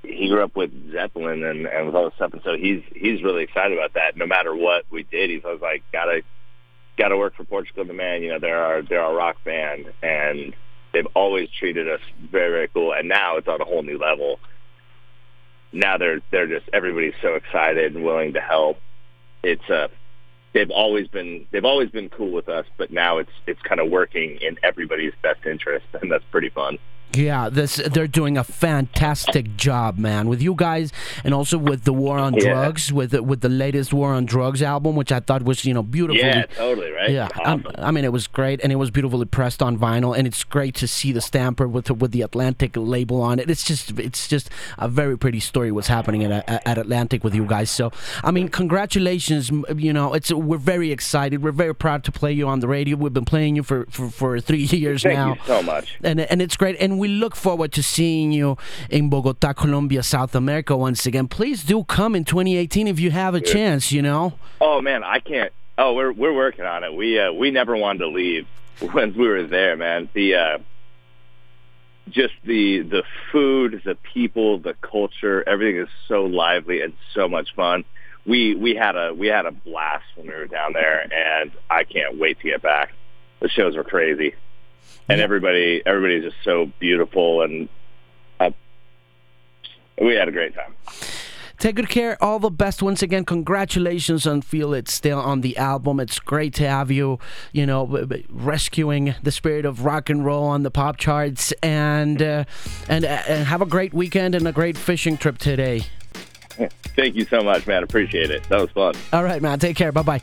he grew up with Zeppelin and, and with all this stuff, and so he's he's really excited about that. No matter what we did, he's always like, gotta gotta work for Portugal the Man. You know, they're our they're our rock band, and they've always treated us very, very cool. And now it's on a whole new level. Now they're they're just everybody's so excited and willing to help. It's uh they've always been they've always been cool with us, but now it's it's kind of working in everybody's best interest, and that's pretty fun. Yeah, this they're doing a fantastic job, man, with you guys, and also with the War on Yeah. Drugs, with the, with the latest War on Drugs album, which I thought was, you know, beautiful. Yeah, totally, right? Yeah, um, Awesome. I mean, it was great, and it was beautifully pressed on vinyl, and it's great to see the stamper with the, with the Atlantic label on it. It's just it's just a very pretty story what's happening at, at Atlantic with you guys. So, I mean, congratulations. m- You know, it's we're very excited. We're very proud to play you on the radio. We've been playing you for, for, for three years Thank now. you so much. And, and it's great. And we look forward to seeing you in Bogota, Colombia, South America once again. Please do come in twenty eighteen if you have a chance, you know. Oh man, I can't. Oh, we're we're working on it. We uh, we never wanted to leave once we were there, man. The uh, just the the food, the people, the culture, everything is so lively and so much fun. We we had a we had a blast when we were down there, and I can't wait to get back. The shows were crazy, and Yeah. everybody everybody's just so beautiful, and uh, we had a great time. Take good care. All the best. Once again, congratulations on Feel It Still on the album. It's great to have you, you know, b- b- rescuing the spirit of rock and roll on the pop charts. And, uh, and, uh, and have a great weekend and a great fishing trip today. Thank you so much, man. Appreciate it. That was fun. All right, man. Take care. Bye-bye.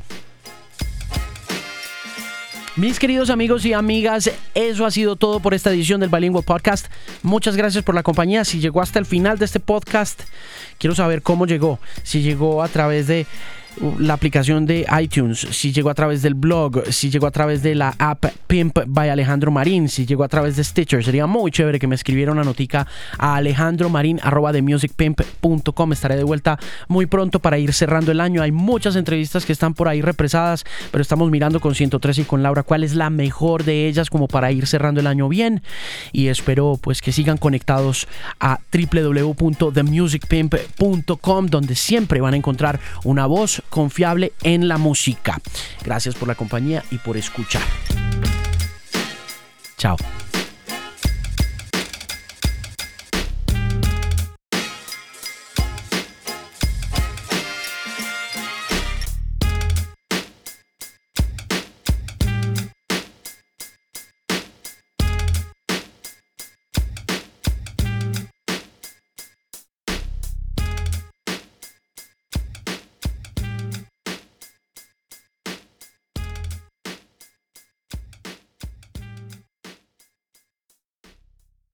Mis queridos amigos y amigas, eso ha sido todo por esta edición del Bilingual Podcast. Muchas gracias por la compañía. Si llegó hasta el final de este podcast, quiero saber cómo llegó. Si llegó a través de la aplicación de iTunes, si llegó a través del blog, si llegó a través de la app Pimp by Alejandro Marín, si llegó a través de Stitcher. Sería muy chévere que me escribiera una notica a alejandromarin arroba the music pimp punto com. Estaré de vuelta muy pronto para ir cerrando el año. Hay muchas entrevistas que están por ahí represadas, pero estamos mirando con ciento tres y con Laura cuál es la mejor de ellas como para ir cerrando el año bien. Y espero pues que sigan conectados a w w w punto the music pimp punto com, donde siempre van a encontrar una voz confiable en la música. Gracias por la compañía y por escuchar. Chao.